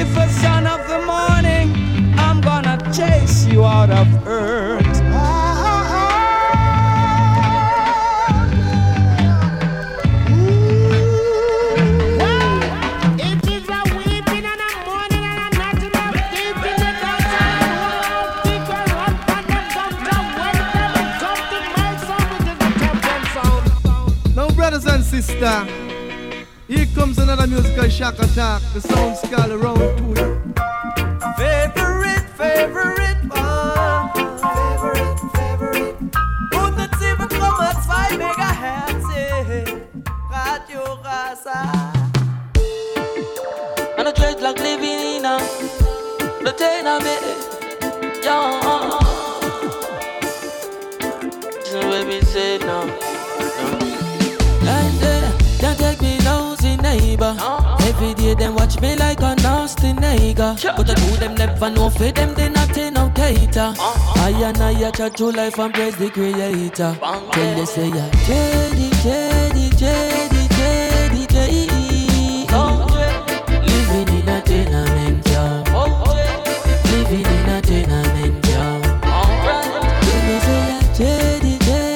Lucifer, son of the morning, I'm gonna chase you out of earth. Brothers and sisters, here comes another musical shock attack. The sound scale around to you. Favorite one. Favorite. 107,2 Megahertz. Radio Rasa. And a dreadlock living in a the tenement. Yeah. This is what we say now. Don't take me nosy neighbor. Every day them watch me like a nasty nigga. But I do them never know for them they not in no cater. I and I chat to life and praise the creator. Tell you say ya Jedi. Living in a tenement job. Living in a tenement job. Tell me say ya Jedi.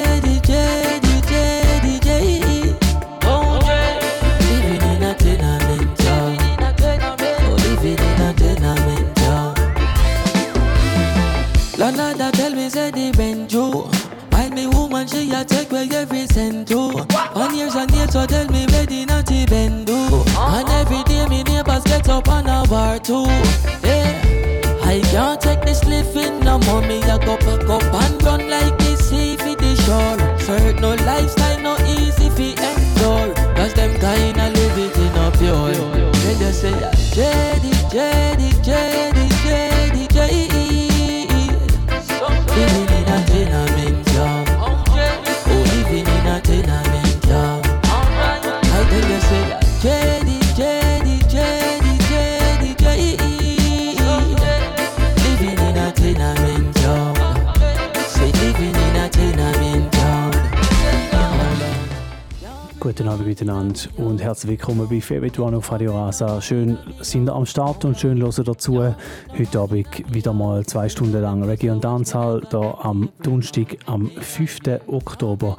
Another tell me say the Benjo. Find me woman she a take where every cent to. 1 years and years so tell me ready not to bend do. And every day me neighbors get up on a war too. Yeah, I can't take this living no more. Me a go pack up and run like this sea for the shore. Certain no lifestyle no easy fi endure. Cause them kinda live it in a pure. They just say Jedi. Living in a tenement job. Oh, living in a tenement job. I tell you say that Jedi. Living in a tenement job. Say living in a tenement job. Guten Abend miteinander und herzlich willkommen bei Favorite One auf Radio Rasa. Schön sind ihr am Start und schön hören dazu. Heute Abend wieder mal 2 Stunden lang Reggae und Dancehall hier am Donnerstag, am 5. Oktober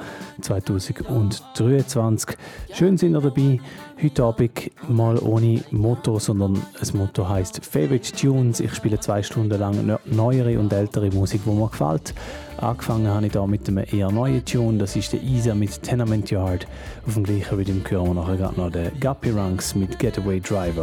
2023. Schön sind ihr dabei. Heute Abend mal ohne Motto, sondern das Motto heisst Favorite Tunes. Ich spiele 2 Stunden lang neuere und ältere Musik, die mir gefällt. Angefangen habe ich da mit einem eher neuen Tune, das ist der Isa mit Tenement Yard. Auf dem gleichen wie dem hören wir nachher gerade noch den Guppy Ranks mit Getaway Driver.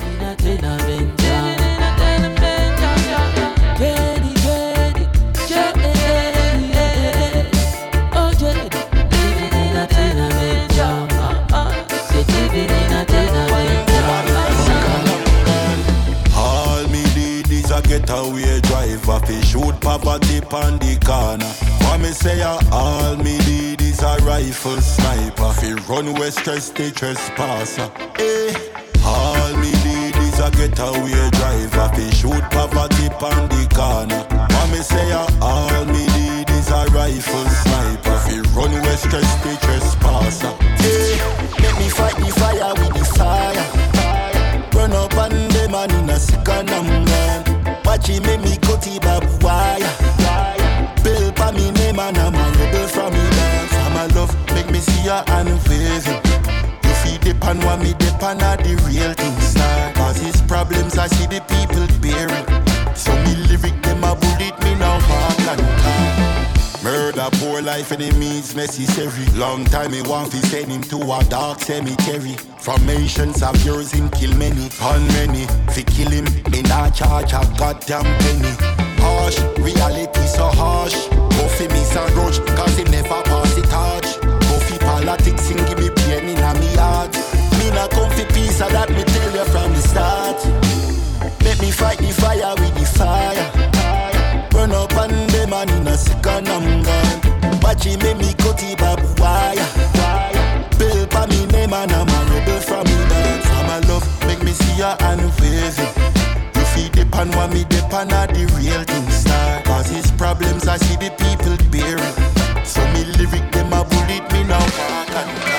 All me need is a getaway driver fi shoot poverty pon the corner. What me say all me need is a rifle sniper fi run west stress the trespasser. All me need is a getaway driver fi shoot poverty pon the corner. What me say all me need is a rifle sniper fi run west stress the trespasser. Let me fight the fire with the fire. Run up on them and in a second I'm gone. Watch him make me cut the barbed wire. Bill pa me name and I'm a rebel from me dance. I'm a love make me see her and waving. You feed the pan what me the pan are the real thing star. Cause his problems I see the people bearing. So me lyric them a bullet me now walk and talk. Murder, poor life, enemies necessary. Long time he want to send him to a dark cemetery. Formations of yours him kill many, on many. Fi kill him, me not charge a goddamn penny. Harsh, reality so harsh. Buffy me some grudge, cause he never pass the torch. Buffy politics and give me pain in a me heart. Me not come fi peace, so that me tell you from the start. Let me fight the fire with the fire. Run up on them and in a second I'm gone. Watch him make me cut the barbed wire. Bill pa me name and I'm a rebel from me dance. I'm a love make me see her and waving. You feed the pan what me the pan are the real thing star. Cause his problems I see the people bearing. So me lyric them a bullet me now walk and talk.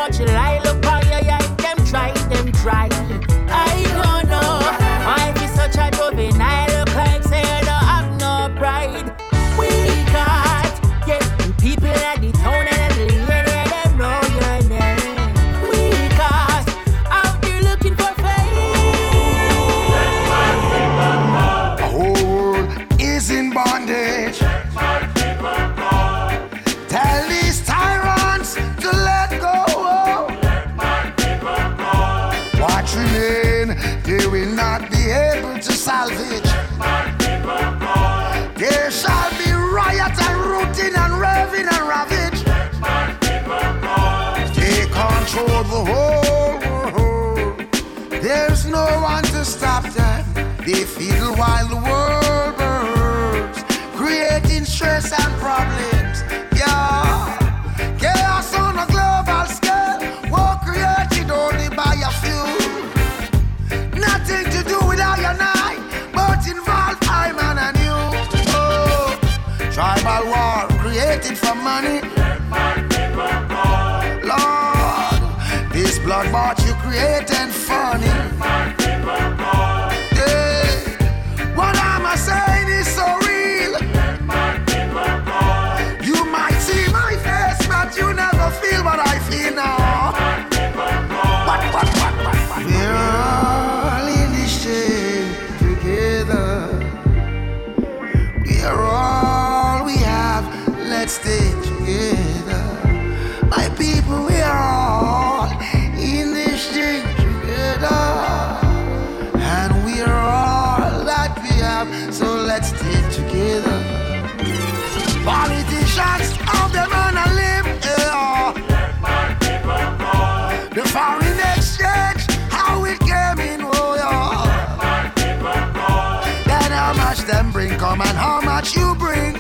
much lie, look how you yeah, them try. I don't know why be such a juvenile. Look like say you don't have no pride. We got people at the town and the lady, them know your name. We got out there looking for fame. The whole world is in bondage. Tell these tyrants to let go. What remain, they will not be able to salvage. There shall be riot and rooting and raving and ravage. They control the whole world. There's no one to stop them. They fiddle while the world burns, creating stress and problems. Yeah, chaos on a global scale, war created only by a few. Nothing to do with I and I, but involve I man and you. Oh, tribal war created for money. Lord, this bloodbath you created funny. Yeah, what am I saying is so real. You might see my face, but you never feel what I feel now. What? We're all in this chain together. We're all we have. Let's stay together. My people, we're all in this chain together. And we're all that we have, so let's stay together. Politicians of them on a limb, yeah. The foreign exchange, how it came in, oh yeah. Then how much them bring, come and how much you bring.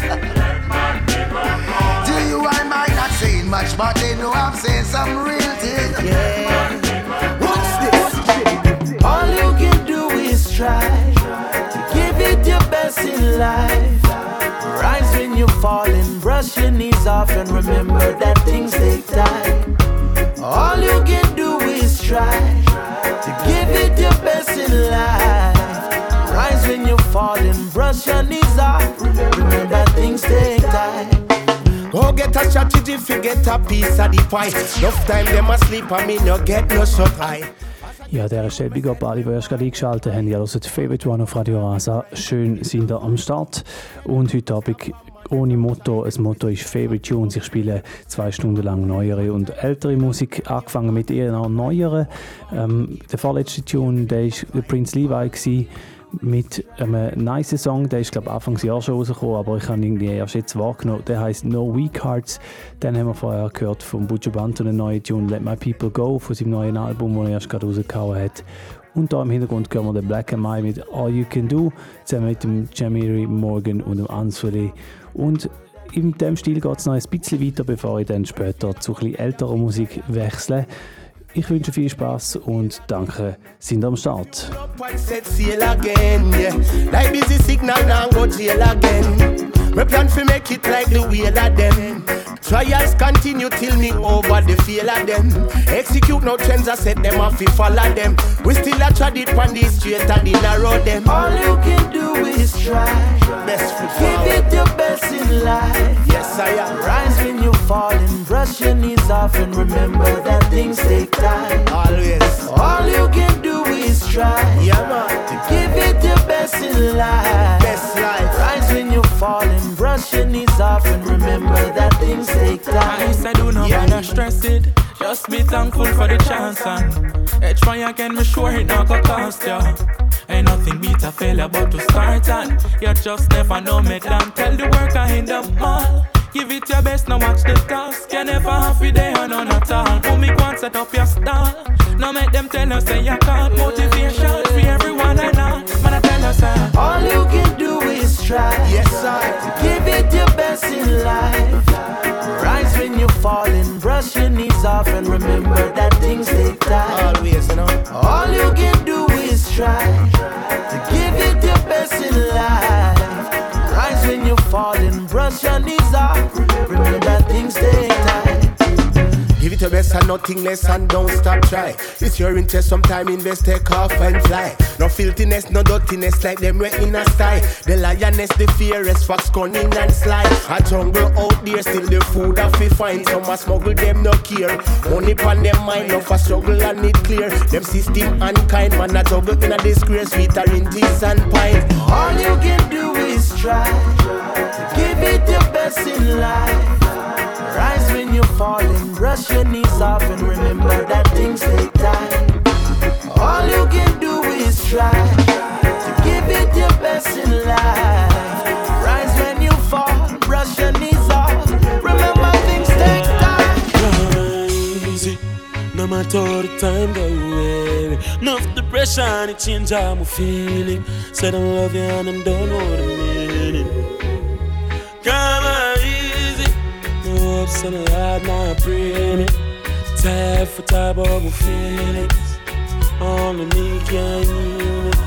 To you I might not say much, but they know I'm saying some real thing. Yeah. What's this? All you can do is try to give it your best in life. Rise when you fall and brush your knees off and remember that things take time. All you can do is try to give it your best in life. Rise when you fall and brush your knees off. Remember that things take time. Go get a strategy, forget a piece of the pie. Enough time them asleep, I mean you get no shot eye. Ja, der Stelle Big Up alle, die erst gerade eingeschaltet haben. Ihr hört Favorite One auf Radio Rasa. Schön sind ihr am Start. Und heute Abend ohne Motto. Das Motto ist Favorite Tunes. Ich spiele 2 Stunden lang neuere und ältere Musik. Angefangen mit eher neueren. Der vorletzte Tune, der war Prince Levi gewesen, mit einem nice Song. Der ist, glaube ich, Anfangsjahr schon rausgekommen, aber ich habe ihn irgendwie erst jetzt wahrgenommen. Der heisst No Weak Hearts. Den haben wir vorher gehört von Buju Banton, einen neuen Tune Let My People Go von seinem neuen Album, das er erst gerade rausgehauen hat. Und da im Hintergrund hören wir den Black and Mai mit All You Can Do, zusammen mit dem Jamiri Morgan und dem Answeli. Und in diesem Stil geht es noch ein bisschen weiter, bevor ich dann später zu ein bisschen älterer Musik wechsle. Ich wünsche viel Spaß und danke, sind am Start. We plan to make it like the way that them. Trials continue till me over the feel of them. Execute no trends, I set them off, we follow them. We still a trod it on the straight and the narrow them. All you can do is try. Best give it your best in life. Yes, I am. Rise when you fall and brush your knees off and remember that things take time. Always. All you can do is try. Yeah, man. To give it your best in life. Best life. Rise when you fall and brush your knees off and remember that things take time. I said do not bother stress it. Just be thankful for the chance and try again, me sure it not gonna cost ya. Ain't nothing beat a failure but to start and you just never know me down. Tell the worker in the mall, give it your best, now watch the task. You never have a day or none at all. Oh, me go and set up your stall. Now make them tell us say you can't. Motivation for everyone and all. Man, I tell us all you can do is try. Yes, I. To give it your best in life. Rise when you fall and brush your knees off and remember that things take time. Always, you know. All you can do is try. To give it your best in life. Rise when you fall and brush your knees off. Remember that things take time. Give it it your best and nothing less and don't stop try. It's your interest, sometime invest, take off and fly. No filthiness, no dirtiness like them way in a style. The lioness, the fiercest, fox cunning and sly. A jungle out there, still the food that we find. Some a smuggle, them no care. Money pon them mind, no for struggle and it clear. Them system unkind, man a juggle in a disgrace. Sweeter in teas and pine. All you can do is try to give it your best in life. Rise when you fall and brush your knees off and remember that things take time. All you can do is try to give it your best in life. Rise when you fall, brush your knees off. Remember things take time. Easy, no matter the time go away. Enough depression, it change how I'm feeling. Said I love you and I don't know the meaning. Come on, easy. No hopes and I had my brain. Tired for time of my feelings. Only me can heal it.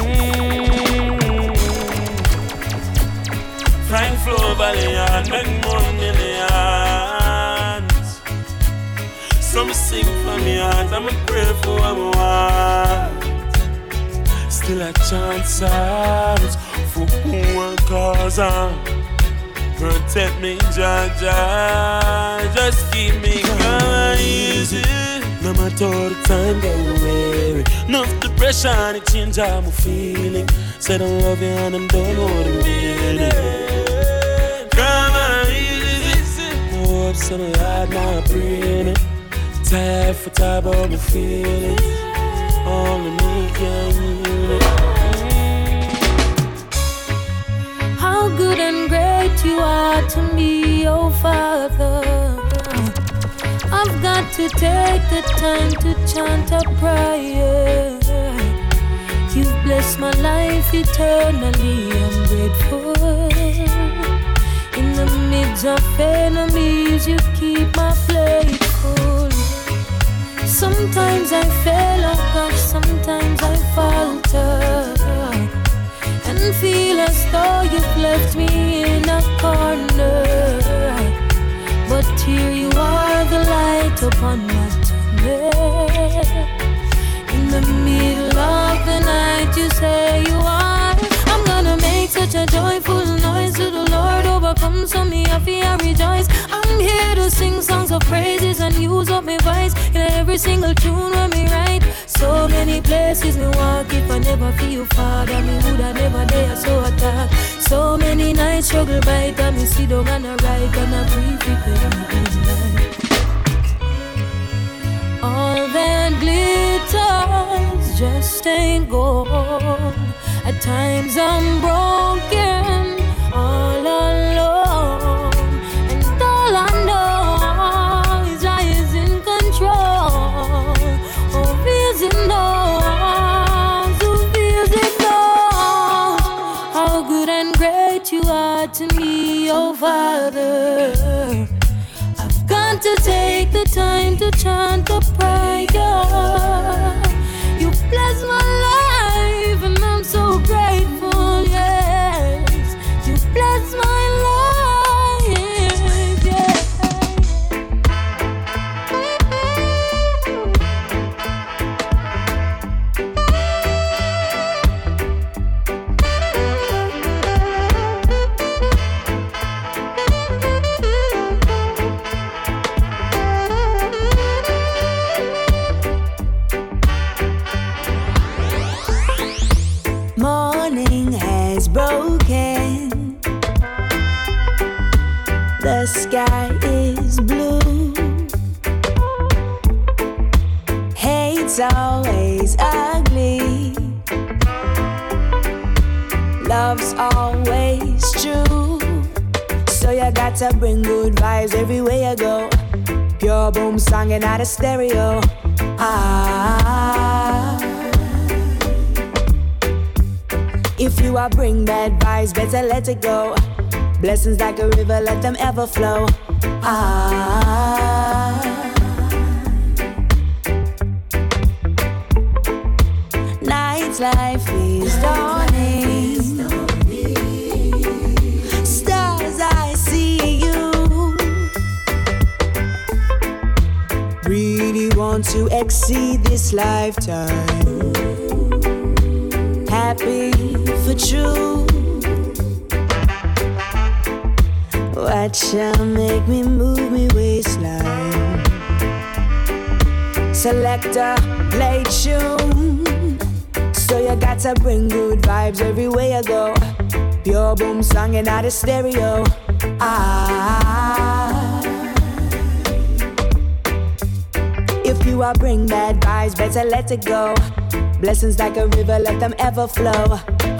Frank Flow Valley and make more millions. Some sing for me heart, I'ma pray for what I want. Still a chance out for who I cause on. Protect me, Jaja, just keep me going easy. No matter the time that we weary. Enough depression, it change how I'm feeling. Said I love you and I don't know the meaning. Come on, easy. No hopes and I had my brain. Tired for time of my feelings. Only me can heal it. How good and great you are to me, oh Father. I've got to take the time to chant a prayer. You've blessed my life eternally, I'm grateful. In the midst of enemies, you keep my plate full. Sometimes I fail, oh gosh, sometimes I falter and feel as though you've left me in a corner. But here you are, the light upon my tunnel. In the middle of the night, you say you are. I'm gonna make such a joyful noise to the Lord, overcome so me happy and rejoice. I'm here to sing songs of praises and use up my voice in every single tune when me write. So many places me walk, if I never feel Father, me woulda never dare so attack. So many nights struggle by time me sit down and I write and I breathe prepare me good life. All that glitters just ain't gold. At times I'm broken, all alone, and all I know is I is in control. Oh, feels it knows, oh, feels it knows how good and great you are to me, oh Father. I've got to take the time to chant the prayer. You bless my life and I'm so grateful, yes. You bless my life, yeah. Morning has broken. The sky is blue. Hate's always ugly. Love's always true. So you got to bring good vibes everywhere you go. Pure boom song and not a stereo. If you are bring bad vibes, better let it go. Blessings like a river, let them ever flow. Night's life is dawning. Stars, I see you. really want to exceed this lifetime. Happy for true. What shall make me move me waistline? Selector, play tune. So you gotta bring good vibes everywhere you go. Pure boom song and not a stereo. If you are bring bad vibes, better let it go. Blessings like a river, let them ever flow.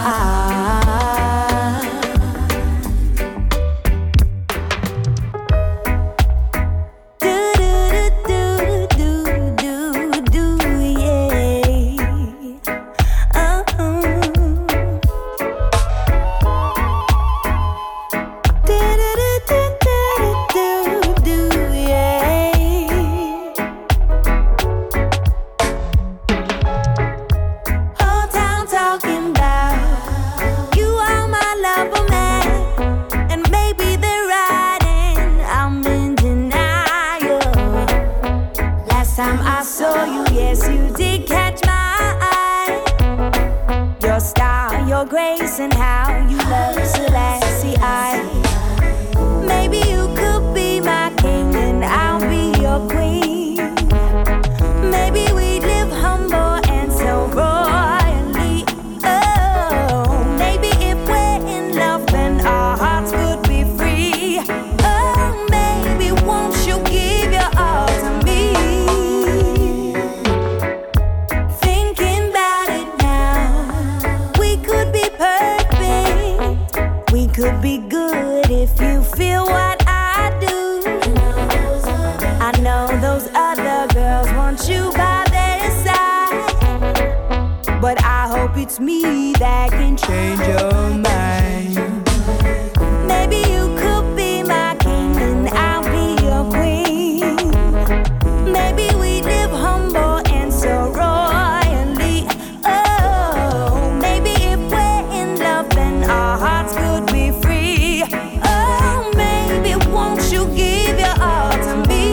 And how you love Selassie I. Maybe you could be my king and I'll be your queen. Maybe we live humble and so royally. Oh, maybe if we're in love then our hearts could be free. Oh, maybe won't you give your all to me? Thinking about it now, we could be we could be good if you feel what I do. I know those other girls want you by their side, but I hope it's me that can change your mind. Maybe you could be my king and I'll be your queen. Maybe we live humble and so royally. Oh, maybe if we're in love then our hearts could be free. Oh, maybe won't you give your all to me?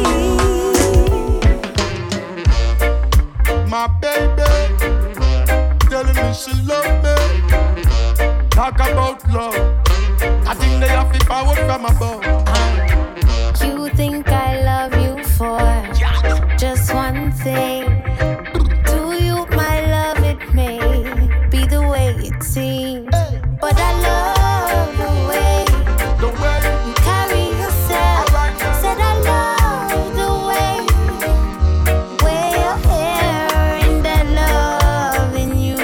My baby telling me she love me. Talk about love. I think they have to forward from above. You think I love you for just one thing? To you my love it may be the way it seems, but I love the way you carry yourself. Said I love the way wear your hair and that love in you.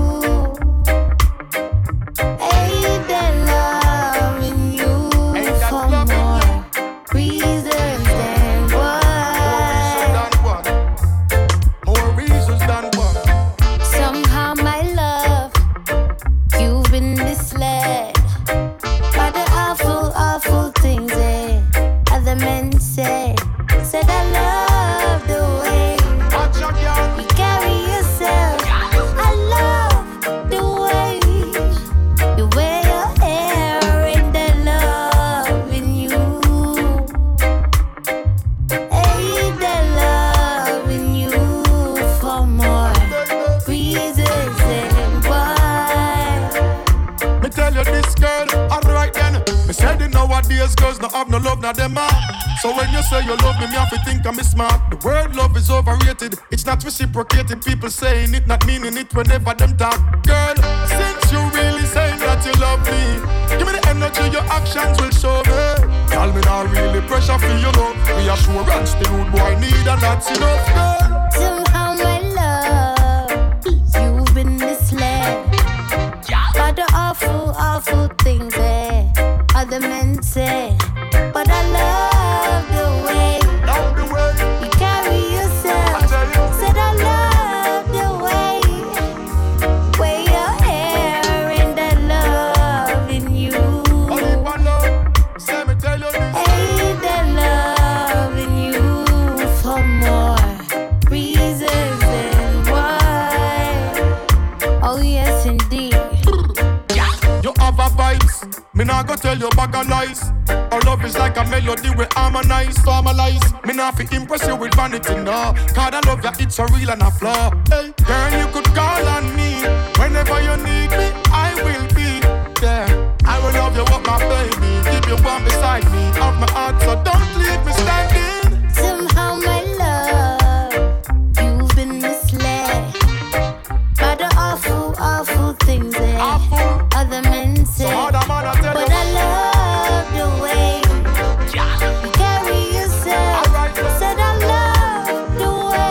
Hey, that love in you for more reasons than one. More reasons than one. Somehow my love, you've been misled by the awful, awful things that other men say. Said I love the way you carry yourself. I love the way you wear your hair and the love in you. Hey, the love in you for more reasons than one. Me tell you this girl, alright then. Me said it nowadays girls no have no love, now them are. So when you say you love me, me have to think I'm smart. The word love is overrated, it's not reciprocated. People saying it, not meaning it whenever them talk. Girl, since you really saying that you love me, give me the energy, your actions will show me. Tell me not really pressure for your love. Reassurance the rude boy need and that's enough, girl. Somehow my love, you've been misled by the awful, awful things that other men say. But I love the way you carry yourself. Said I love the way wear your hair and that love in you. Hey, that love in you for more reasons than one. Oh yes indeed. You have a vibes, me nah go tell you bag of lies. Our love is like a melody we harmonize, formalize. Me not fi impress you with vanity, no. Cause I love you, it's a real and a flaw. Hey, girl, you could call on me. Whenever you need me, I will be there. I will love you up, my baby. Keep you warm beside me. Of my heart, so don't leave me standing. Somehow, my love, you've been misled by the awful, awful things that other men say. But I love the way you carry yourself. Said I love the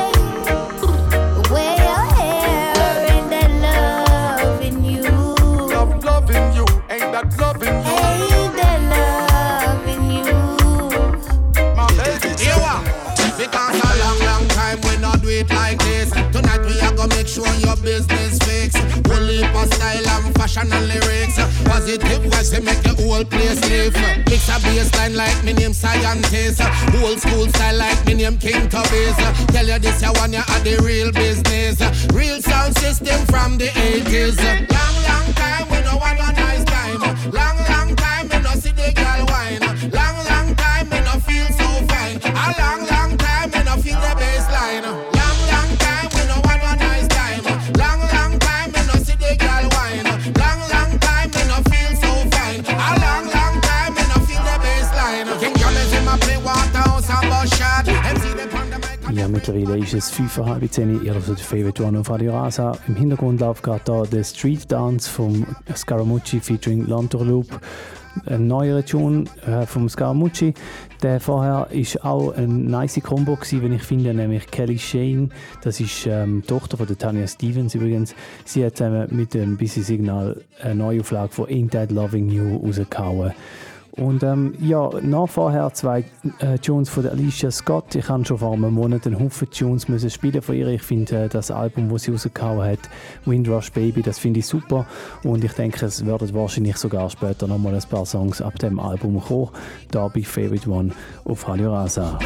way your hair and that love in you. Loving you, ain't that loving you? Ain't that love in you? My baby, you are. Because a long time we not do it like this. Tonight we are gonna make sure your business fixed. We'll leave for style and fashion and lyrics. Positive vibes to make the whole place live. Mix a bassline like me name scientist. Old school style like me name King Tubbies. Tell you this, you want you at the real business. Real sound system from the 80s. Long time we no want a nice time. Long time we no see the girl wine. Long time we no feel so fine. A long time we no feel the bassline. Long time we no want a nice time. Long time we no see the girl wine. Long time we no feel so fine. A long time we no feel the bassline. King James in my play Waterhouse and Bushard. MC the pandemic. Ja, mittlerweile ist es 5:30. Ihr hört Favorite One auf Radio Rasa. Im Hintergrund läuft gerade da der Street Dance vom Scaramucci featuring Lantorloop. Ein neuerer Tune vom Scaramucci. Der vorher ist auch eine nice Combo gewesen, wenn ich finde, nämlich Kelly Shane. Das ist die Tochter von der Tanya Stevens übrigens. Sie hat zusammen mit dem Busy Signal eine Neuauflage von Ain't That Loving You rausgehauen. Und ja, nach vorher 2 Tunes von der Alicia Scott. Ich habe schon vor einem Monat einen Haufen Tunes müssen spielen von ihr. Ich finde das Album, das sie rausgehauen hat, Windrush Baby, das finde ich super. Und ich denke, es werden wahrscheinlich sogar später nochmal ein paar Songs ab dem Album kommen. Da bei Favorite One auf Radio Rasa.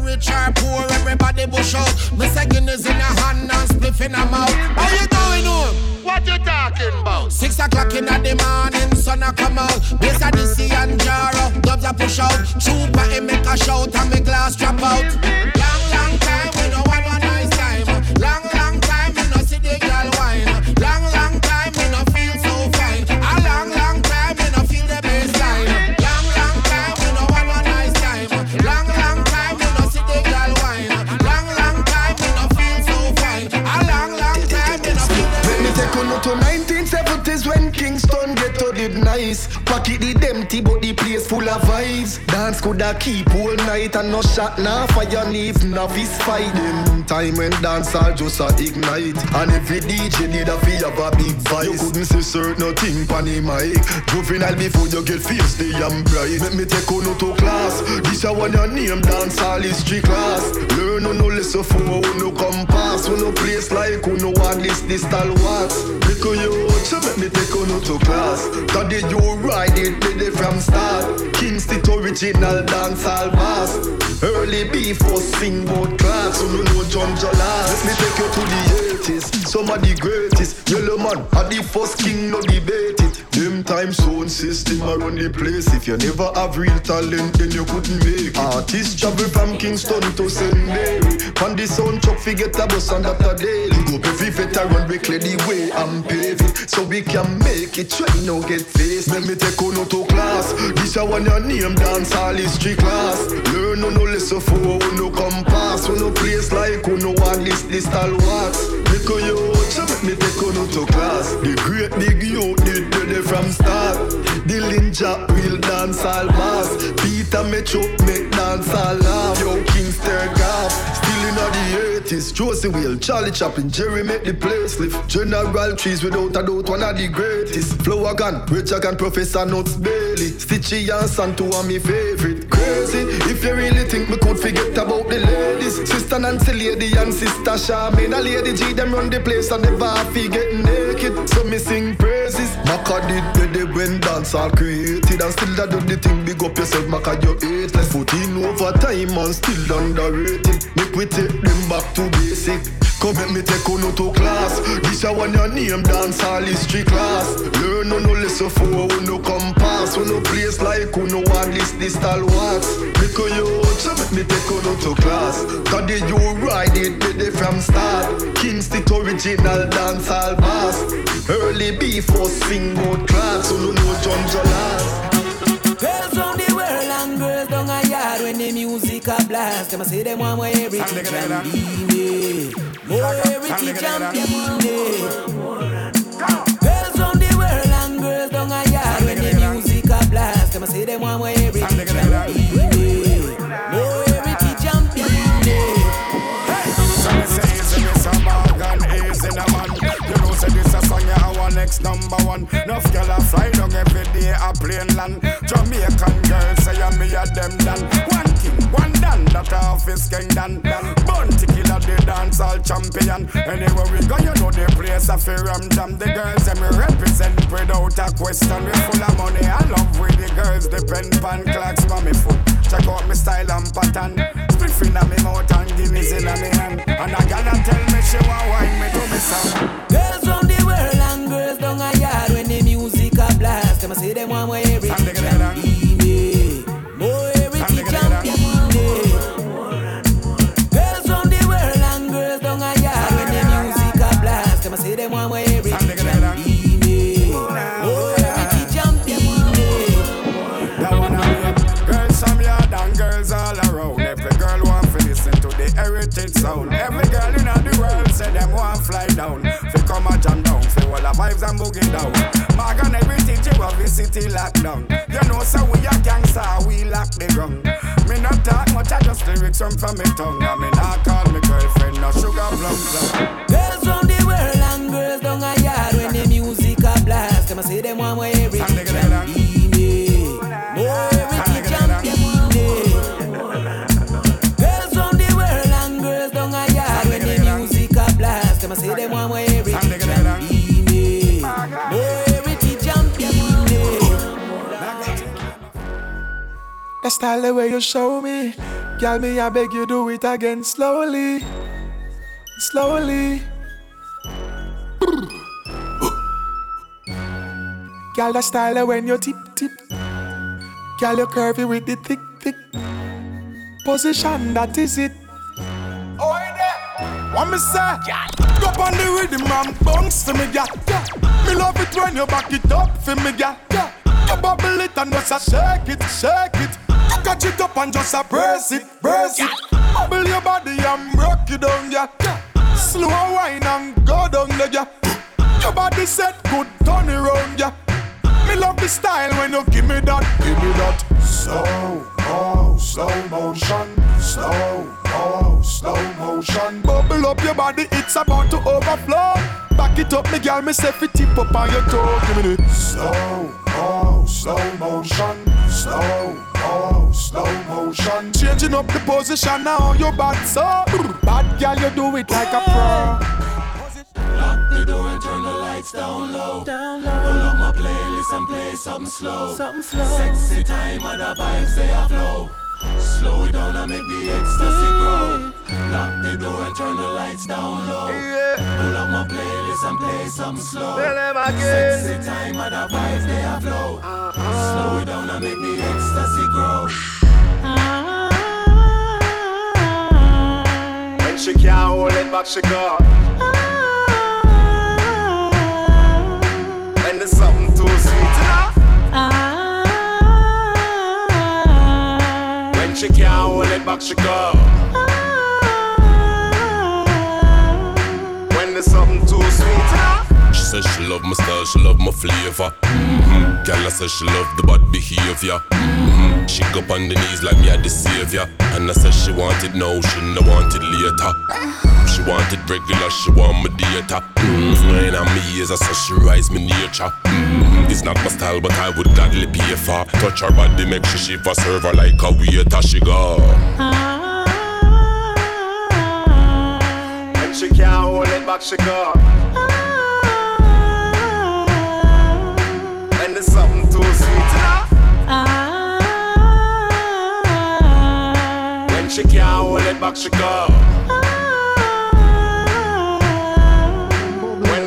What you talking about? 6 o'clock in the morning, sun a come out. Bass a DC and Jaro, dubs a push out. Chupa and make a shout and me glass drop out. Long time we no want a nice time. Long time we no see the girl wine. Long time we no feel so fine. A long time we no feel the bassline. Long time we no want a nice time. Long time we no see the girl wine. Long time we no feel so fine. A long time we no feel the bassline. To 1970s when Kingston ghetto did nice. Pocket did empty but the place full of vibes. Dance coulda keep all night and no shot nah fire leave novice fight. Them time when dancehall just a ignite. And every DJ need a feel of a big vice. You couldn't say certain thing pan the mic. Juvenile before you get feisty and bright. Let me take on to class. This a one your name dancehall history class. Learn no lesson for no compass. No place like no one list this stalwarts. Because you so let me take on to class. That day you ride it, did it from start. Kingston original dancehall bass. Early before sing bout class. So no John Jolas. Let me take you to the 80s. Some of the greatest. Yellow man, are the first king, no debate it. Them time sound system around the place. If you never have real talent, then you couldn't make it. Artists travel from Kingston to St. Mary. On the sound truck, forget a bus and that a daily. Go every veteran, we clear the way and pave it. So we can make it, try no get faced. Let me take on to class. This a one your name dancehall history class. Learn no lesson for no compass. No place like no one list this stalwarts. Because you so let me take on to class. The great big youth did ready from start. The Linja real dancehall bass. Peter Metro make dancehall laugh. Yo Kingston Gaff. Still in the 80s. Josie Wheel, Charlie Chaplin, Jerry make the place lift. General Trees without a doubt one of the greatest. Flower Gun, Richard and Professor Nuts Bailey. Stitchy and Santo are my favorite. Crazy, if you really think me could forget about the ladies. Sister Nancy Lady and Sister Charmaine. A Lady G them run the place and never forget naked. So me sing praises. Maka did ready when dancehall created. And still that do the thing, big up yourself, Maka you 8. Let's put in over time and still underrated. Make we take them back to basic. Come make me take on to class. This a one your name dance all history class. Learn no listen for who no come pass. Who no place like who no one list this style wax. Make a youth so make me take on to class. Cause the you ride it with it from start. Kingston original dance all bass. Early before swing out class. Who no know John Jolas. Girls from the world and girls down a yard when the music a blast. Them a say them want more heritage and be more heritage and be Girls from the world and girls down a yard when the music a blast. Them a say them want more heritage and be more heritage and be So me say easy, me some organ easy na man. You know say this a song you our next number one. Nuff girl a fly down every day a plane land. Jamaican girls say a me a them done. One king, one done, that office king done. Bounty killer the dance all champion. Anywhere we go you know the place a fair jam. The girls them represent without a question. We full of money and love with the girls depend pan clocks for me foot. Check out me style and pattern. Split inna me mouth and Guinness inna me hand. And a gal a tell me she want wine me to me song. Girls from the world and girls down a yard when the music a blast. Them a say them want more heritage and be more heritage and be Girls from the world and girls down a yard when the music a blast. Them a say them want more heritage and be more heritage and be That one I mean. Girls from yard and girls all around. Every girl want to listen to the heritage sound. Every girl in the world say them want fly down. Fi come a jam down, fi all the vibes and boogie down. Magan everything you have the city locked down. You know so we a gangster, we lock the ground. Me not talk much, I just lyrics from me tongue. I mean I call me girlfriend, no sugar plum plum. Girls from the world and girls down a yard when the music a blast. Them a say them want more heritage and be more heritage and be Girls from the world and girls down a yard when the music a blast. Them a say them want more heritage and be more heritage and be That style the way you show me. Girl, me I beg you do it again slowly. Slowly. Girl, that style the when you tip tip. Girl, you curvy with the thick thick position, that is it. Oh, there. What me say? Go on the rhythm and bounce for me, girl. Me love it when you back it up for me, girl. You bubble it and just a shake it, shake it. You catch it up and just a brace it, brace it. Bubble your body and rock you down, girl. Slow wine and go down there, girl. Your body set good, turn it round, girl. Me love the style when you give me that, give me that. Slow motion, slow motion. Bubble up your body, it's about to overflow. Back it up, me girl, me say fi tip up on your toe. Give me it. Slow motion, slow motion. Changing up the position now, your bad so. Bad girl, you do it like a pro. Lock the door and turn the lights down low. Pull up my playlist and play something slow. Sexy time and the vibes they are flow. Slow it down and make the ecstasy grow. Lock the door and turn the lights down low. Pull up my playlist and play something slow. Sexy time and the vibes they are flow. Slow it down and make the ecstasy grow. When she can't hold it back, she go. When there's something too sweet enough. When she can't hold it back, she go. When there's something too sweet enough. She says she love my style, she love my flavor. Girl, I says she love the bad behavior. She go up on the knees like me, I the savior. And I said she wanted now, she no wanted later. She wanted regular, she want my data. When I'm me years, I said she rise me nature. It's not my style, but I would gladly pay for. Touch her body, make she shiver, serve her like a waiter. She go. When she can't hold it back, she go. When there's something too sweet enough. When she can't hold it back, she go.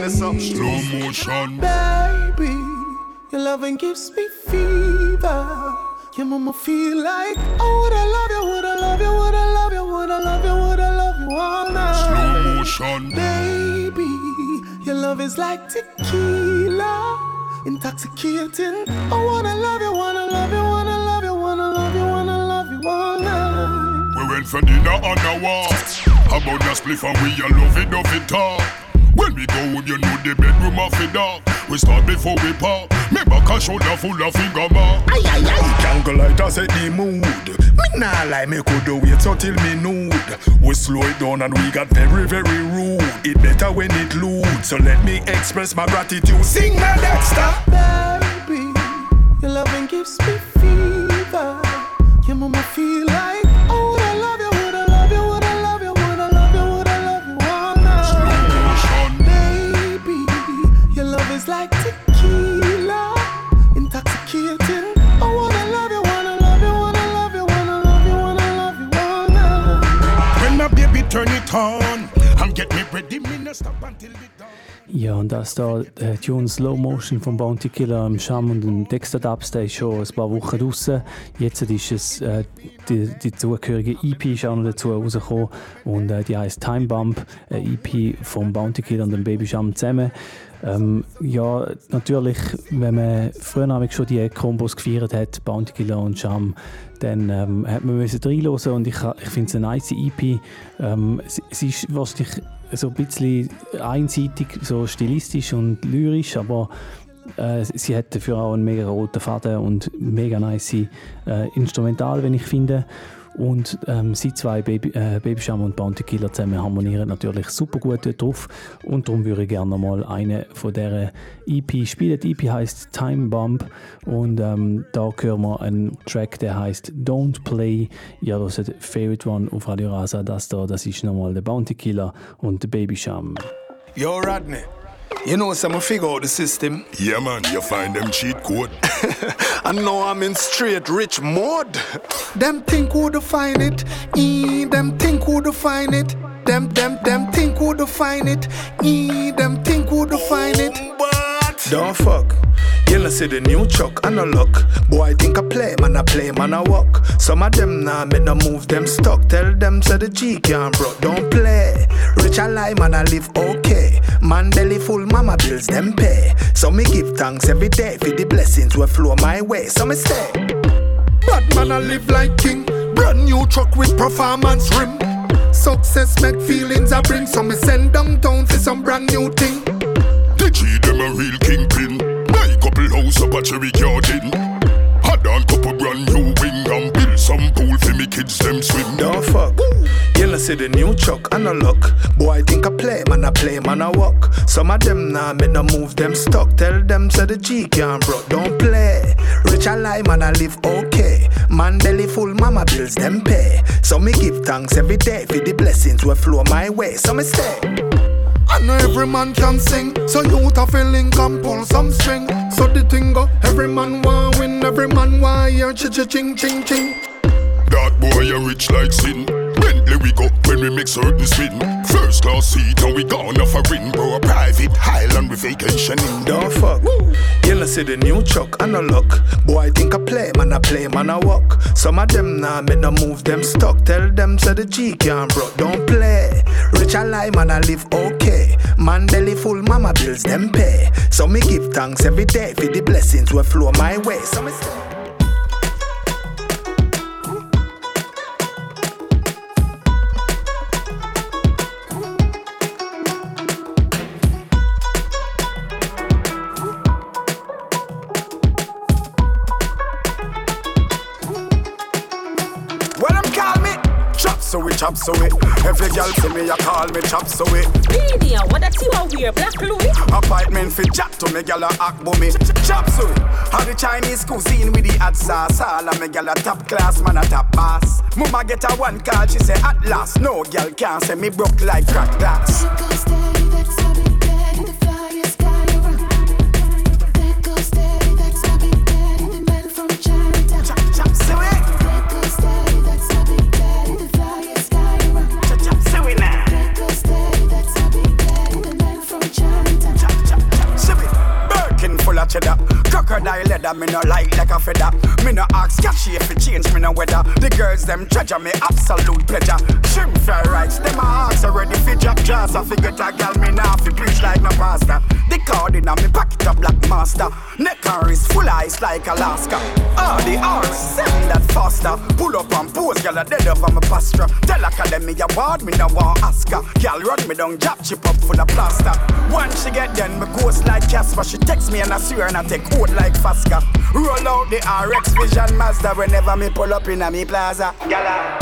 some slow motion. Baby, your loving gives me fever. Your mama feel like, oh, would I love you, would I love you, would I love you, would I love you, would I love you all night. Slow motion. Baby, your love is like tequila, intoxicating. I wanna love you, wanna love you, wanna love you, wanna love you, wanna love you all night. We went for dinner on the walk. About the spliff and we a love it talk. When we go home, you know the bedroom of the dark. We start before we park. Me back a shoulder full of finger mark. Aye, aye, aye. Candlelight set the mood. Me nah lie, me could wait until me nude. We slow it down and we got very, very rude. It better when it loud. So let me express my gratitude. Sing my Dexter. Baby, your loving gives me fever. Your mama feel like, oh, would I love you, would I love you, would I love you, would I love you, would I love you all night. Baby, your love is like tequila, intoxicating. I wanna love you, wanna love you, wanna love you, wanna love you, wanna love you all night. When my baby turn it on and get me ready, me no stop until it done. Ja, und das da, Tune Slow Motion von Bounty Killer im Sham und dem Dexter Dubs, der ist schon ein paar Wochen draussen. Jetzt ist es, die zugehörige EP ist auch noch dazu rausgekommen und die heisst Time Bump, eine EP von Bounty Killer und dem Baby Sham zusammen. Ja, natürlich, wenn man früher schon die Kombos gefeiert hat, Bounty Killer und Sham, dann hat man reinhören und ich finde es eine nice EP. Es ist wahrscheinlich so ein bisschen einseitig, so stilistisch und lyrisch, aber sie hat dafür auch einen mega roten Faden und mega nice Instrumental, wenn ich finde. Und sie zwei, Baby Sham und Bounty Killer zusammen harmonieren natürlich super gut dort drauf. Und darum würde ich gerne noch mal eine von dieser EP spielen. Die EP heisst Time Bump und da hören wir einen Track, der heisst Don't Play. Ihr hört Favorite One auf Radio Rasa. Das ist nochmal der Bounty Killer und der Baby Sham. Yo, Rodney. You know, some figure out the system. Yeah, man, you find them cheat code. And now I'm in straight rich mode. Them think who define it. Them think who define it. Them think who define it. Them think who define it. Don't fuck. You know see the new truck, I no luck. Boy, I think I play, man I walk. Some of them nah make no move, them stuck. Tell them so the G can't broke. Don't play. Rich I lie, man I live okay. Man belly full, mama bills them pay. So me give thanks every day for the blessings will flow my way. So me stay. Bad man I live like king. Brand new truck with performance rim. Success make feelings I bring. So me send downtown for some brand new thing. The G them a real kingpin. My couple house up a cherry garden. Had on couple brand new wing and build some pool for me kids them swim. Don't fuck. You know see the new truck, I no luck. Boy I think I play, man I walk. Some of them nah make no move, them stuck. Tell them so the G can't broke. Don't play. Rich I lie, man I live okay. Man belly full, mama bills them pay. So me give thanks every day for the blessings will flow my way. So me stay. I know every man can sing, so you to feel link and pull some string. So the thing go, every man want win, every man want hear ching ching ching. That boy you rich like sin. Bentley we go when we make certain spin. First class seat and we gone off a ring. Bro a private Highland with vacationing. Don't fuck. You know see the new truck, I no luck. Boy I think I play, man I walk. Some of them nah make no move, them stuck. Tell them so the G can't broke. Don't play. Rich I lie, man I live okay. Man belly full, mama bills them pay. So me give thanks every day for the blessings will flow my way. So me stay. So we chop so it. Every girl see me, you call me chop so it. Media, what that you are wear? Black Louis. Appointment for chat to me, girl a act bummy. Chop so it. How the Chinese cuisine with the hot sauce. All of me girl a top class, man a top boss. Mama get a one call, she say at last. No girl can't say me broke like crack glass. weather, me no like a feather. Me no ask catchy if it change me no weather. The girls them treasure me absolute pleasure. Shrimp fry rights, them a ask already fi jack jazz. I fi get a gal, me nah fi preach like no pastor. The card in a me pocket a black master. Neck and wrist full ice like Alaska. All the RX-7 that faster. Pull up and pose, gal a dead over my pasture. Tell Academy award, me no want ask her. Gal run me down, jab chip up full of plaster. Once she get done, me ghost like Casper. She text me and I swear and I take hold like Fasca. Roll out the RX Vision Mazda whenever me pull up in a me plaza. Gala.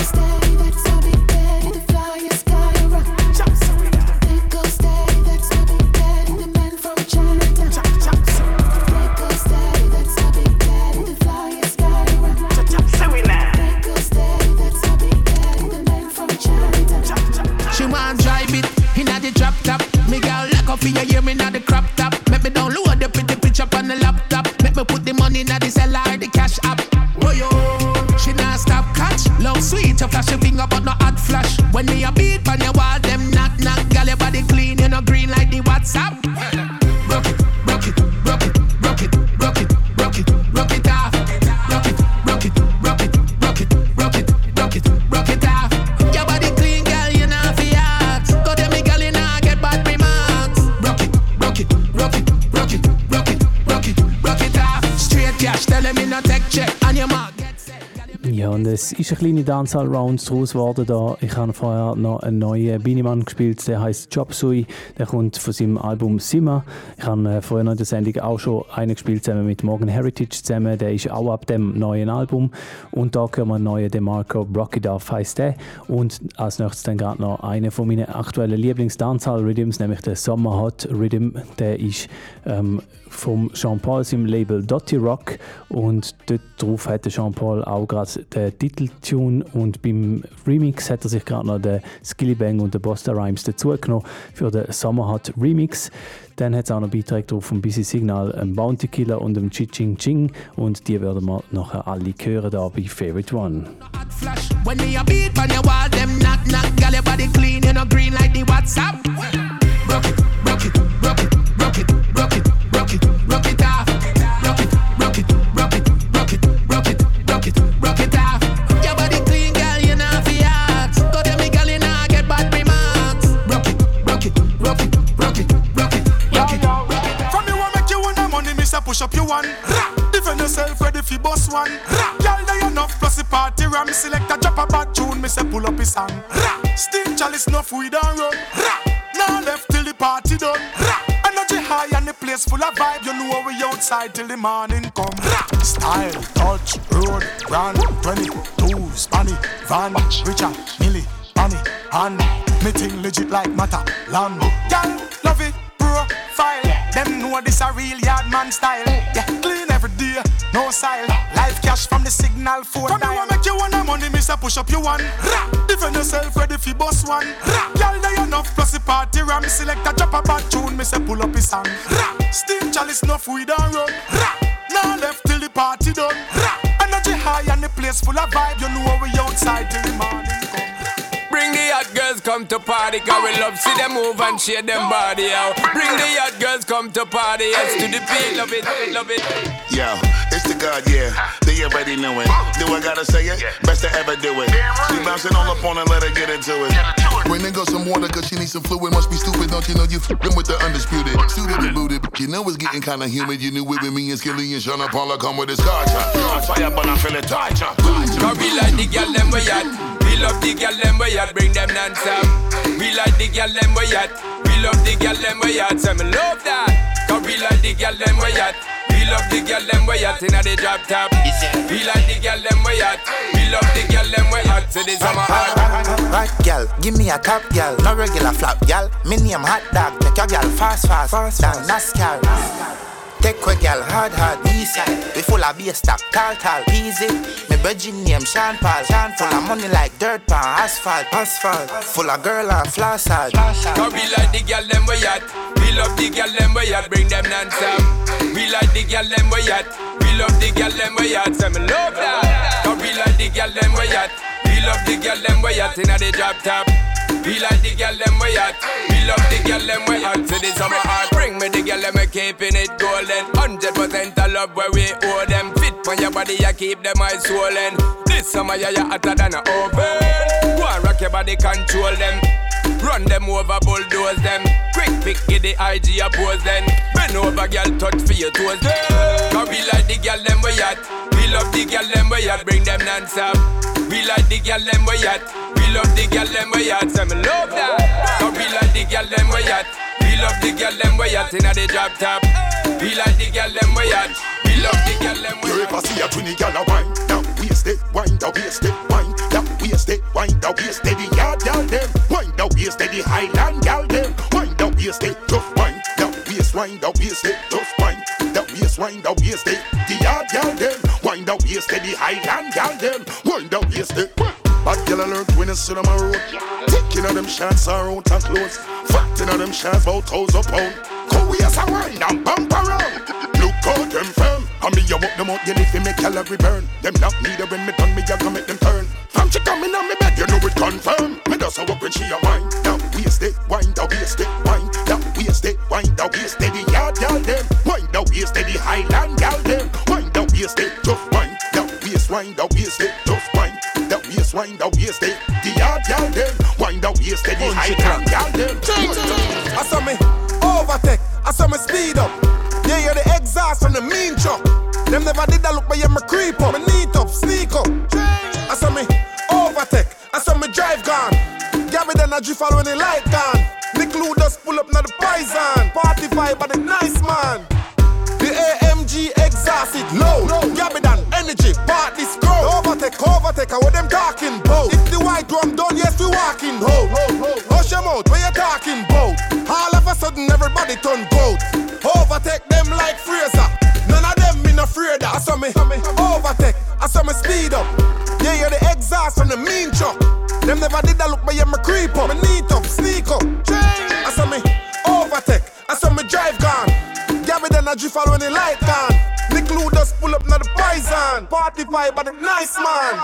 She want drive it inna the drop top. Me girl lock up in your ear, me inna the crop top. Make me download the pretty picture on the laptop. Make me put the money inna the cellar, the cash app. Oh yo, she not stop catch. Love sweet, you flash your finger but no hot flash. When me a beat on your wall, them knock knock. Girl your body clean, you know green like the WhatsApp. Rock it, rock it, rock it, rock it, rock it, rock it, rock it off. Rock it, rock it, rock it, rock it, rock it, rock it, rock it off. Your body clean, girl, you know fi hot. Go there, me girl, you know get bad remarks. Rock it, rock it, rock it, rock it, rock it, rock it, rock it off. Straight cash, tell me no take check on your mark. Ja, und es ist eine kleine Dancehall-Round daraus geworden da. Ich habe vorher noch einen neuen Beanie-Mann gespielt, der heisst Chop Suey. Der kommt von seinem Album Simma. Ich habe vorher noch in der Sendung auch schon einen gespielt, zusammen mit Morgan Heritage zusammen. Der ist auch ab dem neuen Album. Und da hören wir einen neuen DeMarco Rock It Off heisst der. Und als nächstes dann gerade noch einen von meinen aktuellen Lieblings-Dancehall-Rhythms, nämlich der Summer Hot Rhythm. Der ist vom Sean Paul seinem Label Dotty Rock. Und dort drauf hat der Sean Paul auch gerade den Titeltune und beim Remix hat er sich gerade noch den Skillibang und den Busta Rhymes dazugenommen für den Summer Hot Remix. Dann hat es auch noch Beiträge drauf vom Busy Signal, einem Bounty Killer und einem Chi-Ching Ching und die werden wir nachher alle hören da bei Favorite One. When me a beat on your wall, them knock knock. Girl your body clean, you know green like the WhatsApp. Rock it, rock it, rock it, rock it, rock it, rock it, rock it off. Rock it, rock it, rock it, rock it, rock it, rock it, rock it off. Your body clean, girl, you know fi hot. Go there, me girl, you know get bad remarks. Rock it, rock it, rock it, rock it, rock it, rock it, rock it. From you want make you want the money, me say push up your one. Defend yourself, ready fi boss one. Girl, there enough plus the party ram. Select a drop a bad tune, me say pull up his song. Still chalice enough weed and run. Now left till the party done. Energy high and the place full of vibe. You know we outside till the morning come. Style, touch, road, brand, 22, Spanny, Van, Richard, Millie, Bonnie, hand. Meeting legit like matter, land. Girl, love it, profile. Them know this a real yard man style. Yeah, clean every day, no style. Life cash from the signal for come you want make you want the money, me say push up you one. Defend yourself, ready fi boss one. Girl, there enough plus the party ram. Select a drop a bad tune, me say pull up his song. Steam chalice enough weed and run. Now left till the party done. Energy high and the place full of vibe. You know we outside till the morning come. Bring the hot girls come to party, cause we love see them move and shake them body out. Bring the hot girls come to party, yes to the beat, love it, love it. Yo, it's the God, yeah, they already know it. Do I gotta say it? Best to ever do it. She bouncing all up on her, let her get into it. Bring the girl some water, cause she needs some fluid. Must be stupid, don't you know you f***ing with the undisputed. Suited and booted, you know it's getting kinda humid. You knew it with me and Skilly and Sean Paula come with his car chop. On fire, but I feel it tight, chop. Cause we like the girl them we at. We love the girl them we at, bring them non-stop. We like the girl them we at. We love the girl them we at, so me love that. Cause we like the girl them we at. We love the girl them we at inna the drop top. We like the girl them we at. We love the girl them we at, so this summer hot. Right girl, give me a top girl, no regular flap girl. Me name hot dog, take your girl fast, down NASCAR. Take a girl hard, easy. We full of bass stop, tall, easy. Me virgin name Sean Paul, full of money like dirt pan, asphalt. Full of girl and floss hard. Cause we like the girl them we at. We love the girl them we at, bring them non-stop. We like the girl them we at. We love the girl them we at, so me love that. Cause we like the girl them we at. We love the girl them we at inna the drop top. We like the girl them we at. We We love the girl them we hot to the summer heart. Bring me the girl them we keeping it golden. 100% of love where we owe them. Fit for your body, you keep them eyes swollen. This summer you hotter than an oven. Go and rock your body, control them. Run them over, bulldoze them. Quick pick, get the IG oppose them. Bend over, girl, touch for your toes them. Cause we like the girl them we hot. We love the girl them we hot. Bring them non-stop. We like the girl them we hot. We love the girl them we hot. So me love that. Cause we like the girl them we hot. We love the girl them we hot inna the drop top. We like the girl them we hot. We love the girl them we hot. You ever see a twinny girl a wine? Now waist it, wine the waist it, wine. Now waist it, wine the waist it. The yard girl them, wine the waist it. The Highland girl them, wine the waist it. Tough wine, the waist wine the waist it. Tough wine, the waist wine the waist it. The yard girl them, wine the waist it. The Highland girl them, wine the waist it. Bad girl alert when it's on my road. Taking all them shots are out and close. Fatting all them shots about 1,000 pounds. Go we as a wine and bump around. Look out them firm. And me you walk them out, you if you make calorie burn. Them not neither when me done, me you gonna make them turn. From she coming on me bed, you know it confirm. Me does a walk when she a wine. Now waist it, wine, the waist it, wine. Now waist it, wine, the waist it. The yard girl them, wine, the waist it. The Highland girl them, wine, the waist it. Tough wine, the waist wine, the waist it. Tough wine, the waist wine, the waist it. The yard girl them, wine, the waist it. The Highland girl them. I saw me overtake, I saw me speed up. Yeah, you're the exhaust from the mean truck. Them never did that look, but yeah, me creep up. Me neat up, sneak up. I saw me overtake, I saw me drive gone. Gabby then I drift all when the light gone. Nick Lou just pull up now the poison. Party vibe by the nice man. The AMG exhaust it low. Gabby done energy, party scroll. Overtake, I what them talking about. If the white drum done, yes we walking ho. Hush your mouth, where you talking about? All of a sudden everybody turn goat. Overtake them like Fraser. None of them me no afraid of. I saw me overtake, I saw me speed up. Yeah, you're the exhaust from the mean truck. Them never did that look, but yeah, me creep up. Me neat up, sneak up. I saw me overtake, I saw me drive gone. Gabby then I drift all when the light gone. Nick Lou just pull up now the poison. Party vibe by the nice man.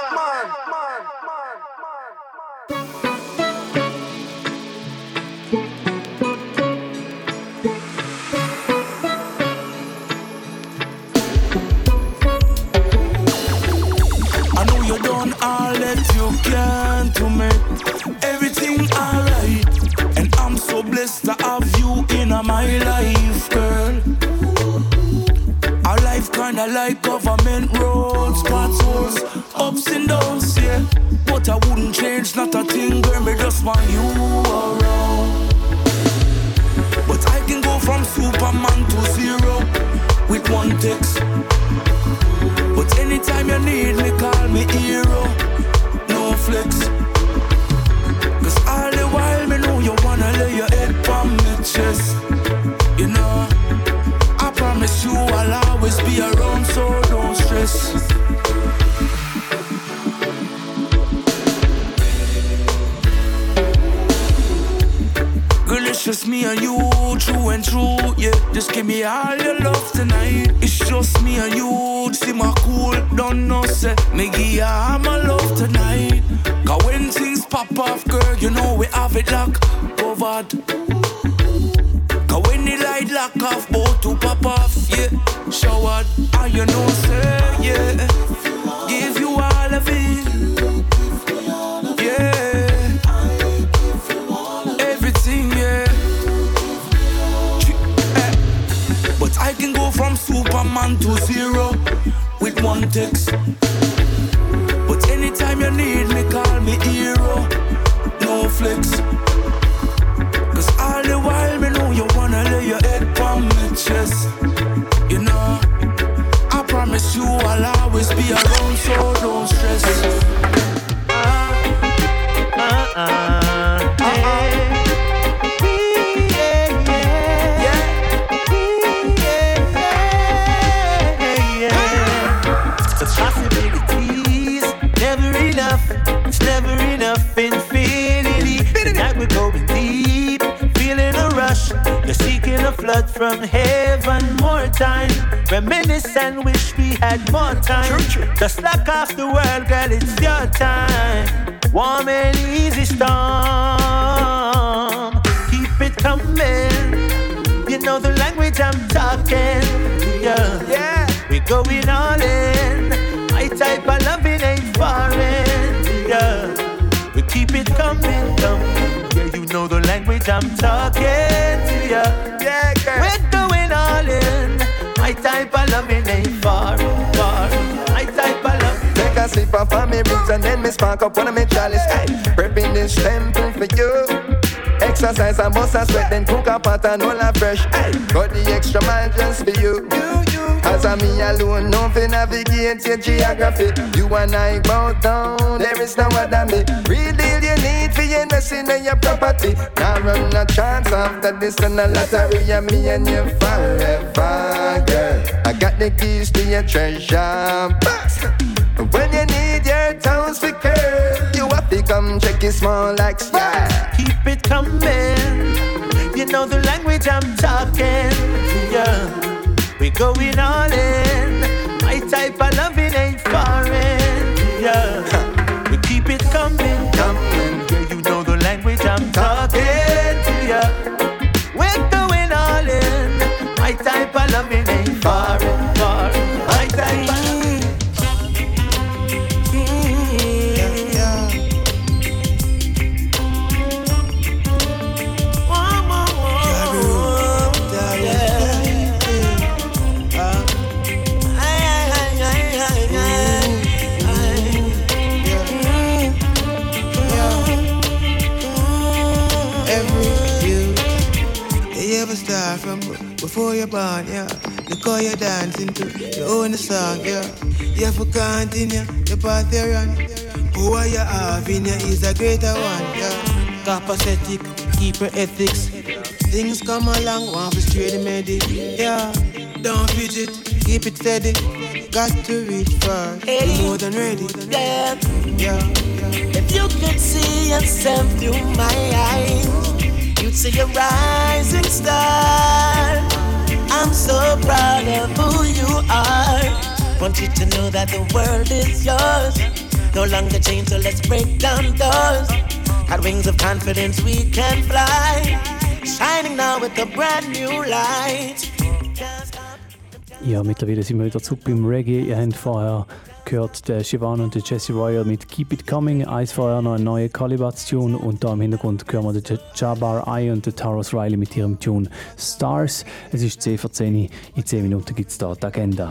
I know you done all that you can to make everything alright. And I'm so blessed to have you in my life, girl. Our life kinda like government roads, potholes, ups and downs, yeah. But I wouldn't change not a thing, girl, me just want you around. But I can go from Superman to zero with one text. But anytime you need me, call me hero, no flex. Cause all the while me know you wanna lay your head on my chest. You know, I promise you I'll always be around, so don't stress. Girl, it's just me and you, true and true, yeah. Just give me all your love tonight. It's just me and you, see my cool, don't know, say. Me give you all my love tonight. Cause when things pop off, girl, you know we have it locked, covered. Cause when the light lock off, both to pop off, yeah. Showered, and you know, say, yeah. Give you all of it, yeah. Everything, yeah. But I can go from Superman to zero with one text. But anytime you need me, call me hero, no flex. Cause all the while me know you wanna lay your head on my chest. You know, I promise you I'll always be around, so don't stress. The possibilities never enough. It's never enough. Infinity. Tonight we're going deep, feeling a rush. You're seeking a flood from heaven. More time, reminisce and wish we had more time. Just lock off the world, girl, it's your time. Warm and easy storm. Keep it language I'm talking. Yeah. We going all in. My type of loving ain't foreign. Yeah. We keep it coming. Yeah, you know the language I'm talking to. Yeah, girl. We're going all in. My type of loving ain't foreign. My type of loving. Take a sip of my roots and then me spark up one of my chalice. Hey, prepping this temple for you. Exercise and bust a sweat, then cook a pot and all a fresh. Hey, got the extra mile just for you. As a me alone, no fi navigate your geography. You and I both down, there is no other me. Real deal you need for investing in your property. Now run a chance after this and a lottery. And me and you forever, girl. I got the keys to your treasure box. When you need your tones for curl, you have to come check your small legs, yeah. Keep it coming. You know the language I'm talking. Yeah. We going all in. My type of loving ain't foreign. Yeah. We keep it coming. Yeah, you know the language I'm talking to. Yeah. We're going all in. My type of loving ain't foreign. My type of from before you're born, yeah. Look how you're dancing to your own song, yeah. You have to continue the path you're on. Who you have in you is a greater one, yeah. Capacitic, keep your ethics. Things come along, want to straight the medic, yeah. Don't fidget, keep it steady. Got to reach far, more than ready, yeah. If you could see yourself through my eyes, you'd see a rising star. I'm so proud of who you are. Want you to know that the world is yours. No longer chained, so let's break down doors. Got wings of confidence, we can fly. Shining now with a brand new light. Ja, mittlerweile sind wir wieder zurück beim Reggae. Ihr habt vorher gehört den Siobhan und den Jesse Royal mit Keep It Coming. Eins vorher noch ein neuer Calibats-Tune. Und da im Hintergrund hören wir den Jabbar I und den Tarrus Riley mit ihrem Tune Stars. Es ist 10 vor 10. In 10 Minuten gibt es da die Agenda.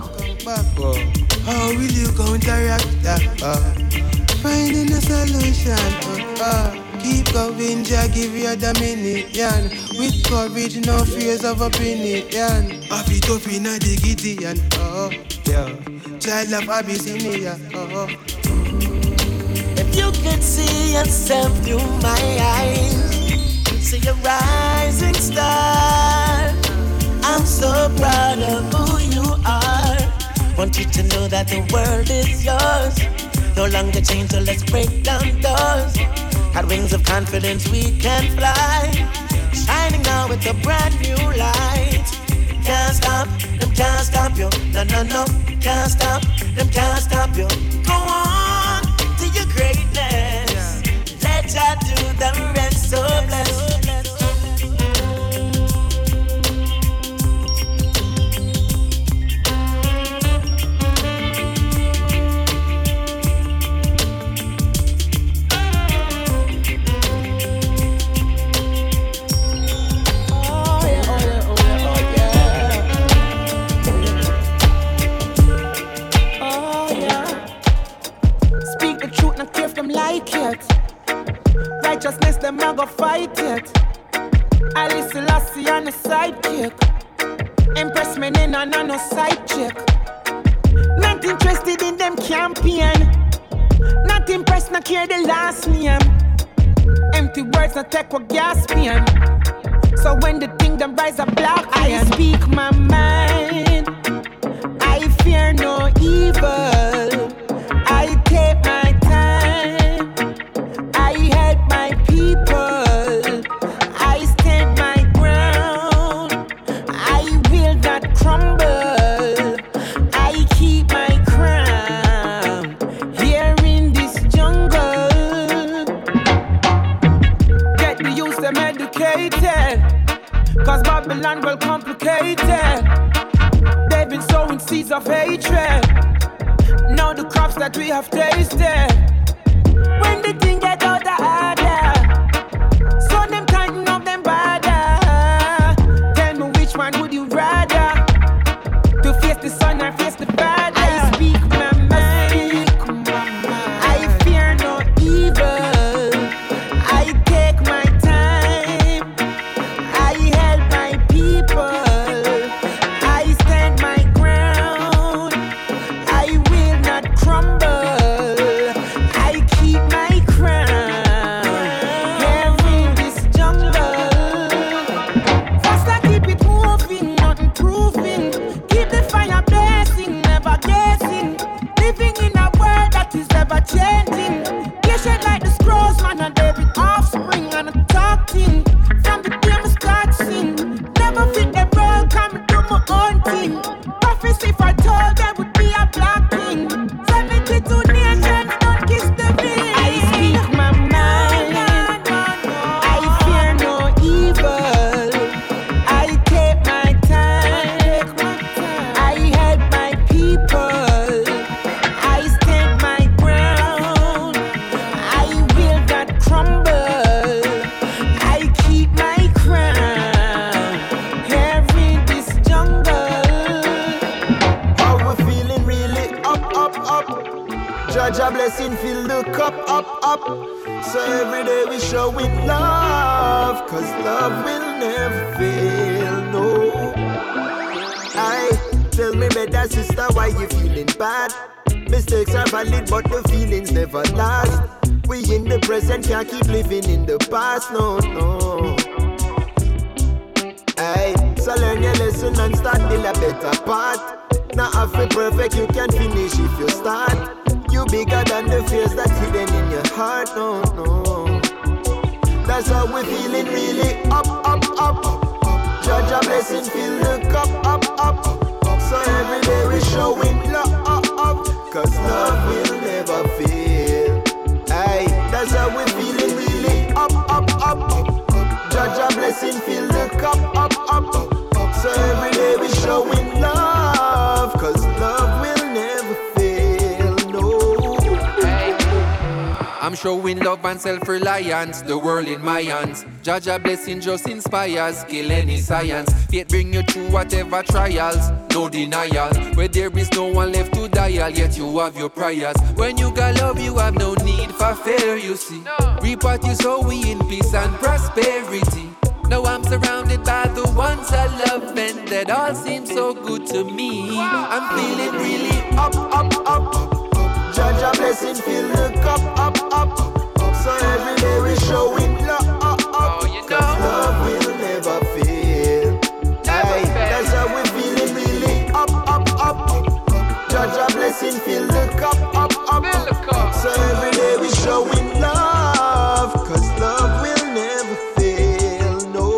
How will you counteract that? Finding a solution. Keep going, Jah give you a dominion. With courage, no fears of opinion. Have it up in a Gideon. Oh, yeah. Child of Abyssinia. Oh. If you could see yourself through my eyes, you'd see a rising star. I'm so proud of who you are. Want you to know that the world is yours. No longer chained, so let's break down doors. Got wings of confidence, we can fly. Shining now with a brand new light. Can't stop, them can't stop you. No, no, no, can't stop, them can't stop you. Go on to your greatness. Let Jah do the rest, so blessed. Like it. Righteousness, them a go fight it. Alice Selassie on the sidekick. Impress me in and no side chick. Not interested in them campaign. Not impressed, not care the last name. Empty words, not take what gas pain. So when the thing them rise a black iron. I speak my mind. I fear no evil. I take my time. I help my people. I stand my ground. I will not crumble. I keep my crown here in this jungle. Get the youth them educated. Cause Babylon well complicated. They've been sowing seeds of hatred. Now the crops that we have tasted. When the thing get out of order, so them tighten up them border. Tell me which one would you rather? To face the sun or face the father? I speak my mind. I fear no evil. I take my time. I help my people. I stand my ground. I will not crumble. I keep my crown. Here in this jungle. First I keep it moving, not improving. Keep the fire blazing, never guessing. Living in a world that is ever changing. Patient like the scrolls, man, and David offspring. And I'm talking from the day I start sing. Never fit the role, come do my own thing. Prophecy for told there would be a black king. 72 nations don't kiss the ring. I speak my mind. I fear no evil. I take my time. I help my people. I stand my ground. I will not crumble. I keep my crown. Here in this jungle. How we feeling really up. Judge a blessing, fill the cup up. So every day we showing love, cause love will never fail, no. I tell me better sister, why you feeling bad? Mistakes are valid, but the feelings never last. We in the present, can't keep living in the past, no. Aye, so learn your lesson and start build a better path. Not half it perfect, you can finish if you start. You bigger than the fears that's hidden in your heart, no. That's how we feeling really up. Judge a blessing, fill the cup up. So every day we showing love, cause love will never fail. Aye, that's how we feeling really up. Judge a blessing, fill the cup up. So every day we showing love, cause love will never fail, no. I'm showing love and self-reliance, the world in my hands. Judge a blessing just inspires, kill any science. Faith bring you through whatever trials, no denial. Where there is no one left to dial, yet you have your prayers. When you got love, you have no need for fear, you see. Reap what you sow, we in peace and prosperity. Now I'm surrounded by the ones I love, and that all seems so good to me. I'm feeling really up. Judge a blessing, fill the cup up. So every day we showing love, cause love will never fail. Aye, that's how we feeling really up. Judge a blessing, fill the cup up. So every day we showing love, cause love will never fail, no.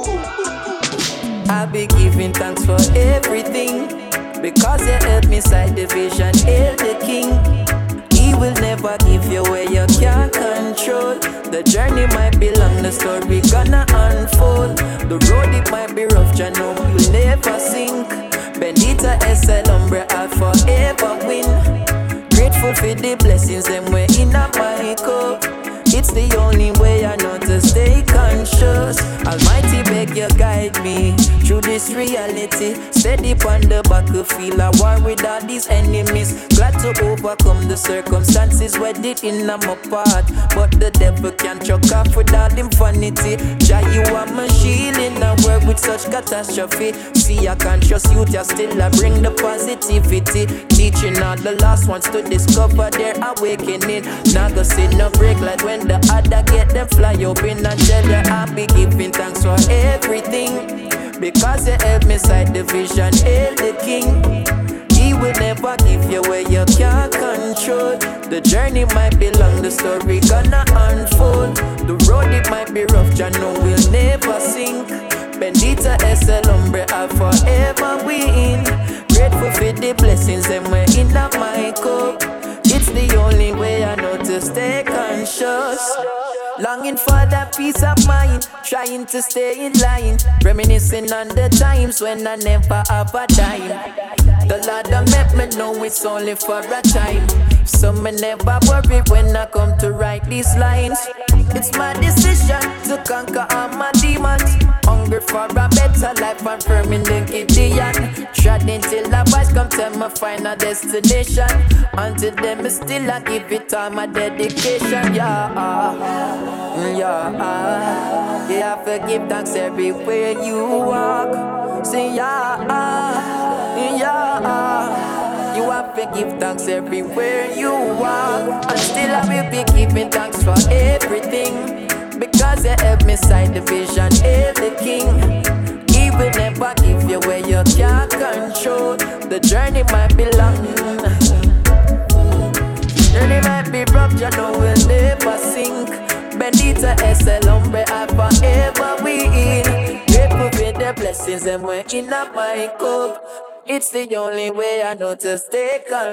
I'll be giving thanks for everything, because you helped me sight the vision, hail the king. He will never give you where you can't control. The journey might be long, the story gonna unfold. The road it might be rough, you know you'll never sink. Bendita es el hombre, I'll forever win. Grateful for the blessings, them way in a my cup. It's the only way I know to stay conscious. Almighty beg you guide me through this reality. Steady on the battlefield, I war with all these enemies. Glad to overcome the circumstances where it in my path. But the devil can't choke off with all him vanity. Jah, you are my shield in a world with such catastrophe. See, I conscious youth, you still I bring the positivity. Teaching all the last ones to discover their awakening. Not gonna see no break like when the other get them fly up in and tell you I'll be giving thanks for everything, because you help me sight the vision, hail the king. He will never give you where you can't control. The journey might be long, the story gonna unfold. The road it might be rough, you know we'll never sink. Bendita es el hombre, I'll forever win. Grateful for the blessings, them way in my cup. It's the only way I know to stay conscious. conscious. Longing for that peace of mind, trying to stay in line, reminiscing on the times when I never have a dime. The Lord done make me know it's only for a time, so me never worry when I come to write these lines. It's my decision to conquer all my demons. Hungry for a better life and firm in the Gideon. Treading till a voice come tell me final destination. Until then me still I give it all my dedication. You have to give thanks everywhere you walk. Say you have to give thanks everywhere you walk. And still I will be giving thanks for everything, because you help me sight the vision, hail the King. He will never give you where you can't control. The journey might be long, journey might be rough, you know we'll never sink. Bendita es el hombre I forever win. Grateful for the blessings and we're in my cup. It's the only way I know to stay calm.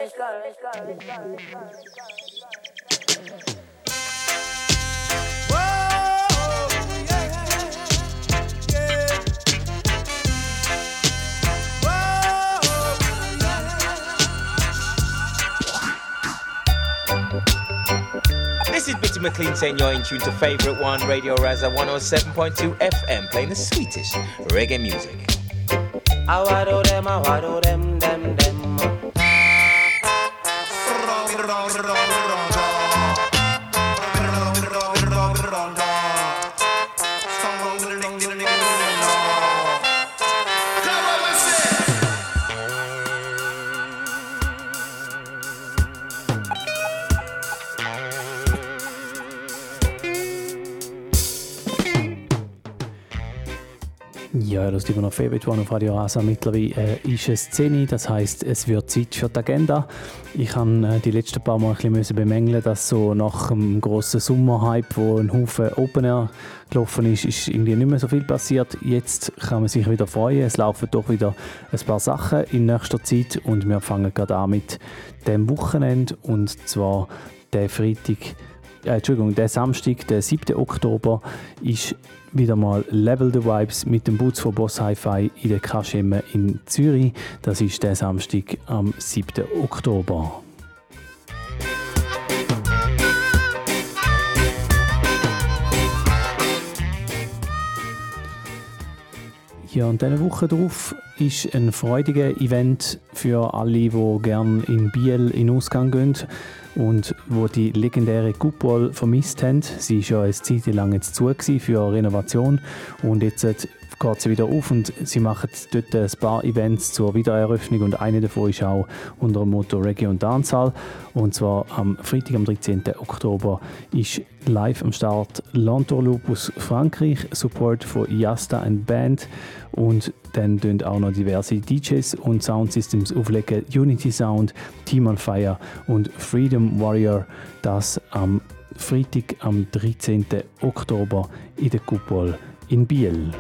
This is Bitty McLean saying you're in tune to Favourite One, Radio Raza 107.2 FM, playing the sweetest reggae music. I wado them, them. Ja, das ist immer noch Favourite One auf Radio Rasa. Mittlerweile ist es 10 Uhr, das heisst, es wird Zeit für die Agenda. Ich habe die letzten paar Mal ein bisschen bemängeln, dass so nach dem grossen Sommerhype, wo ein Haufen Open Air gelaufen ist irgendwie nicht mehr so viel passiert. Jetzt kann man sich wieder freuen. Es laufen doch wieder ein paar Sachen in nächster Zeit und wir fangen gerade an mit dem Wochenende, und zwar der Samstag, der 7. Oktober, ist wieder mal Level the Vibes mit dem Boots von Boss Hi-Fi in der Kaschemme in Zürich. Das ist der Samstag am 7. Oktober. Ja, und diese Woche drauf ist ein freudiger Event für alle, die gerne in Biel in Ausgang gehen und wo die legendäre Coupole vermisst haben. Sie war ja eine Zeit lang jetzt zu für Renovation und jetzt geht sie wieder auf und sie machen dort ein paar Events zur Wiedereröffnung, und eine davon ist auch unter dem Motto Reggae und Dancehall. Und zwar am Freitag, am 13. Oktober, ist live am Start L'Entourloupe aus Frankreich, Support von Yasta and Band, und dann tun auch noch diverse DJs und Soundsystems auflegen. Unity Sound, Team on Fire und Freedom Warrior. Das am Freitag, am 13. Oktober in der Coupole in Biel.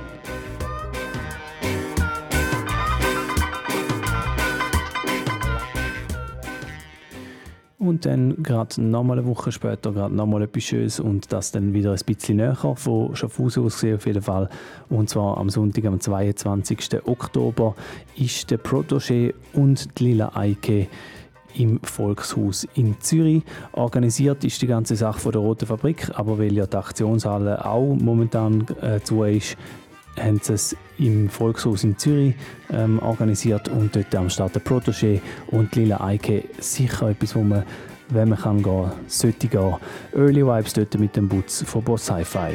Und dann gerade nochmal eine Woche später gerade nochmal etwas Schönes, und das dann wieder ein bisschen näher von Schaffhausen aus gesehen auf jeden Fall. Und zwar am Sonntag, am 22. Oktober, ist der Protégé und die Lila Eike im Volkshaus in Zürich. Organisiert ist die ganze Sache von der Roten Fabrik, aber weil ja die Aktionshalle auch momentan zu ist, haben sie es im Volkshaus in Zürich organisiert, und dort am Start der Protégé und die Lila Eike. Sicher etwas, wo man, wenn man kann gehen, sollte gehen. Early Vibes dort mit dem Boots von Boss Hi-Fi.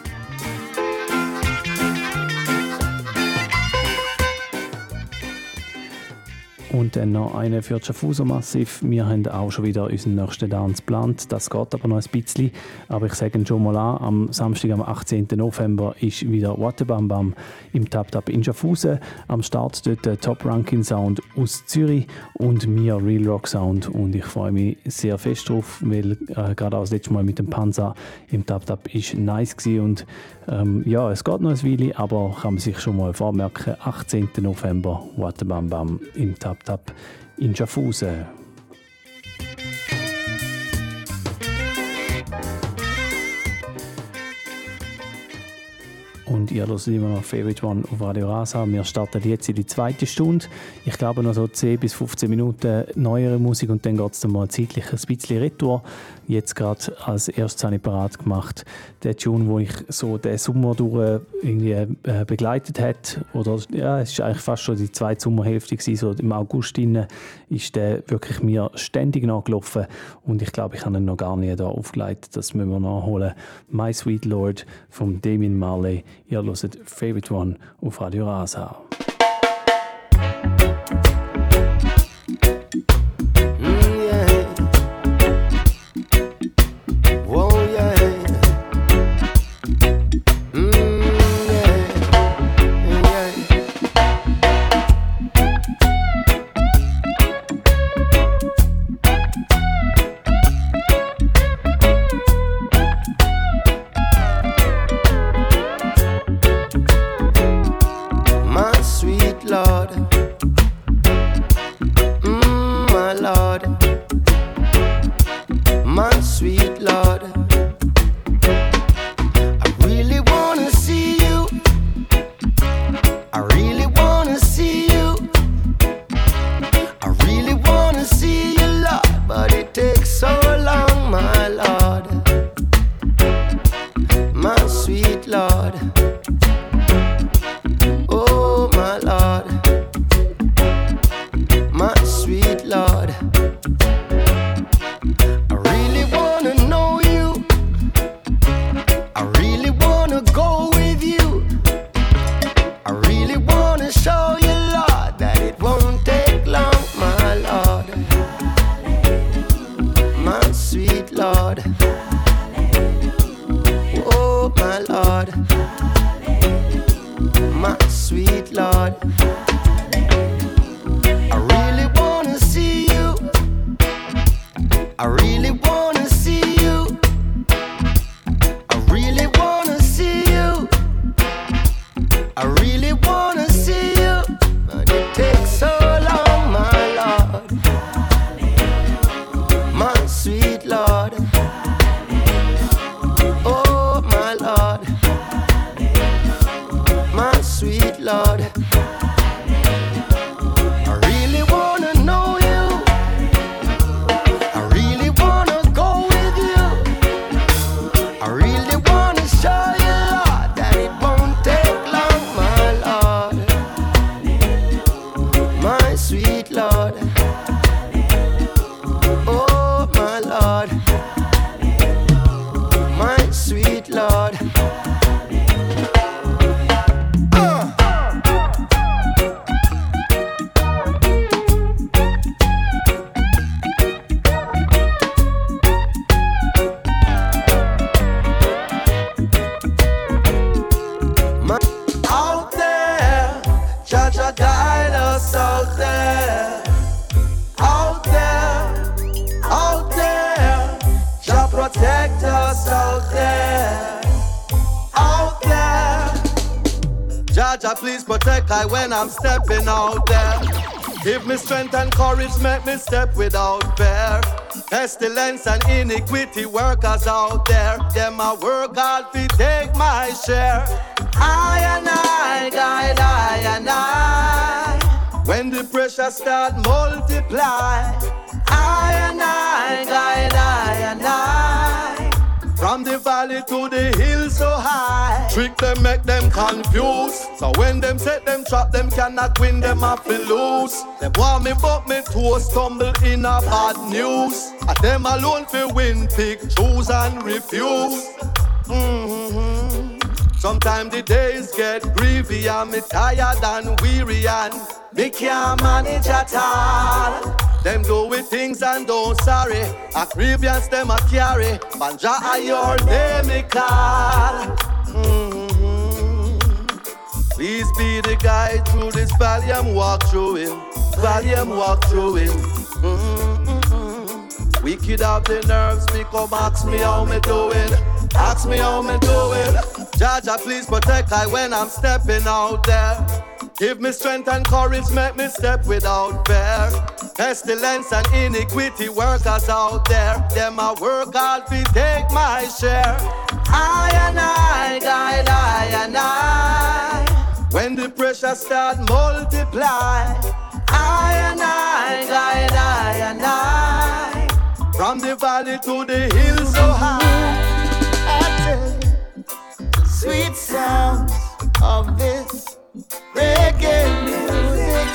Und dann noch eine für das Schaffhauser Massiv. Wir haben auch schon wieder unseren nächsten Dance geplant. Das geht aber noch ein bisschen. Aber ich sage schon mal an, am Samstag, am 18. November, ist wieder Wattebam Bam im Tap Tap in Schaffhausen. Am Start dort der Top Ranking Sound aus Zürich und mir Real Rock Sound. Und ich freue mich sehr fest drauf, weil gerade auch das letzte Mal mit dem Panzer im Tap Tap ist nice gewesen. Und ja, es geht noch ein Weile, aber kann man sich schon mal vormerken, 18. November, Wattebam Bam im Tap Tap in Schaffhausen. und ihr hört immer noch Favorite One auf Radio Rasa. Wir starten jetzt in die zweite Stunde. Ich glaube noch so 10 bis 15 Minuten neuere Musik und dann geht es dann mal zeitlich ein bisschen retour. Jetzt gerade als erstes habe ich parat gemacht den Tune, wo ich so den Sommer durch irgendwie begleitet hat. Oder ja, es ist eigentlich fast schon die zweite Sommerhälfte gewesen. So im August ist der wirklich mir ständig nachgelaufen und ich glaube, ich habe ihn noch gar nicht da aufgelegt. Das müssen wir nachholen. My Sweet Lord von Damian Marley. Ihr hört Favorite One auf Radio Rasa. I'm stepping out there. Give me strength and courage, make me step without fear. Pestilence and iniquity workers out there. Them I work hard to take my share. I and I, guide I and I. When the pressure start multiply, I and I, guide I and I. From the valley to the hill so high. Trick them, make them confused. So when them set them trap, them cannot win, them have to lose. Them want me but me toes stumble in a bad news. And them alone fi win, pick, choose and refuse. Sometimes the days get grievy and me tired and weary and me can't manage at all. Them do with things and don't sorry. A grievance them a carry. Banja are your name me call. Please be the guide through this valley I'm walk through it. Valley I'm walk through it. Wicked have the nerves, become ask me how me doing. Ask me how me doing. Jaja, please protect I when I'm stepping out there. Give me strength and courage, make me step without fear. Pestilence and iniquity workers out there. Them I work hard to take my share. I and I, guide I and I. pressure start multiply. I and I, from the valley to the hills so high. Sweet sounds of this reggae music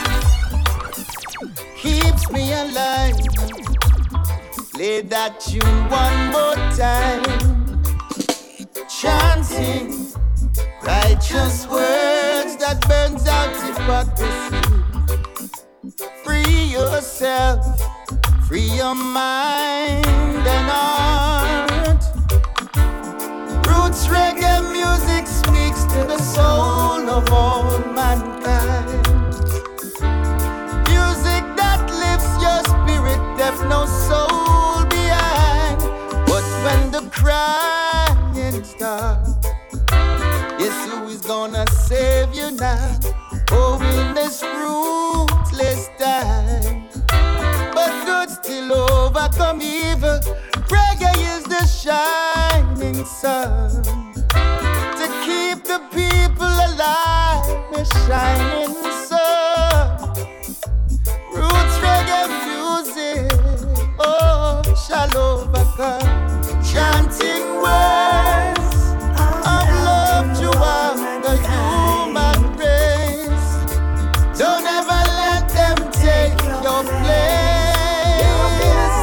keeps me alive. Play that tune one more time, chanting righteous words that burns out hypocrisy. Free yourself, free your mind and heart. Roots reggae music speaks to the soul of all mankind. Music that lifts your spirit, left no soul behind. But when the crying starts, guess who is gonna save you now? Oh, in this ruthless time. But good still overcome evil. Reggae is the shining sun to keep the people alive. The shining sun. Roots reggae music, oh, shall overcome. Chanting words of love to all the human race. Don't ever let them take your place.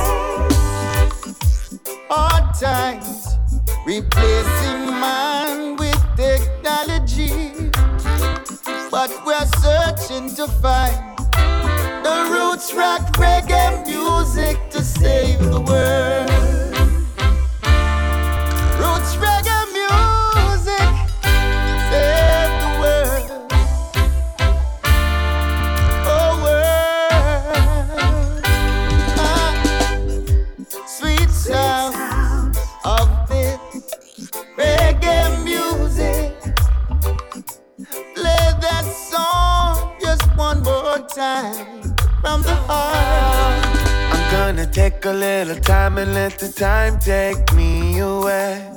Hard times replacing man with technology, but we're searching to find the roots rock reggae music to save the world. Roots reggae music save the world. Oh world, sweet sounds of this reggae music. Play that song just one more time from the heart. I'm gonna take a little time and let the time take me away.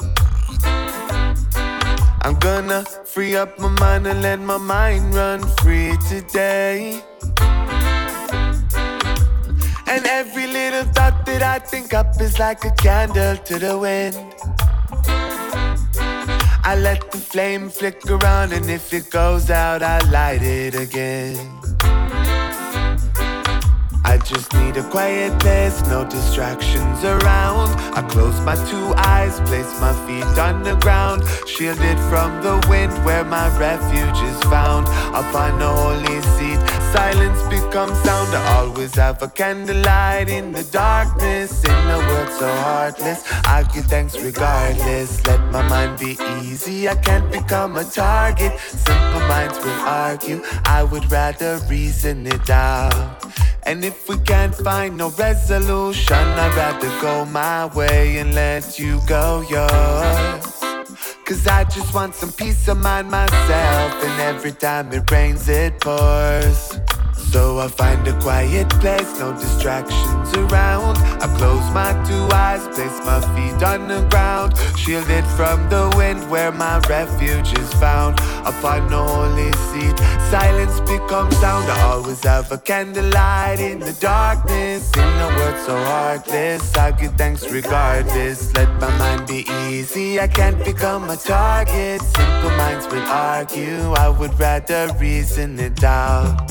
I'm gonna free up my mind and let my mind run free today. And every little thought that I think up is like a candle to the wind. I let the flame flicker around, and if it goes out, I light it again. I just need a quiet place, no distractions around. I close my two eyes, place my feet on the ground, shielded from the wind where my refuge is found. I'll find a holy seat, silence becomes sound. I always have a candlelight in the darkness. In a world so heartless, I give thanks regardless. Let my mind be easy, I can't become a target. Simple minds will argue, I would rather reason it out. And if we can't find no resolution, I'd rather go my way and let you go yours. Cause I just want some peace of mind myself, and every time it rains it pours. So I find a quiet place, no distractions around. I close my two eyes, place my feet on the ground, shielded from the wind where my refuge is found. Upon the holy seat, silence becomes sound. I always have a candlelight in the darkness. In a world so heartless, I give thanks regardless. Let my mind be easy, I can't become a target. Simple minds will argue, I would rather reason it out.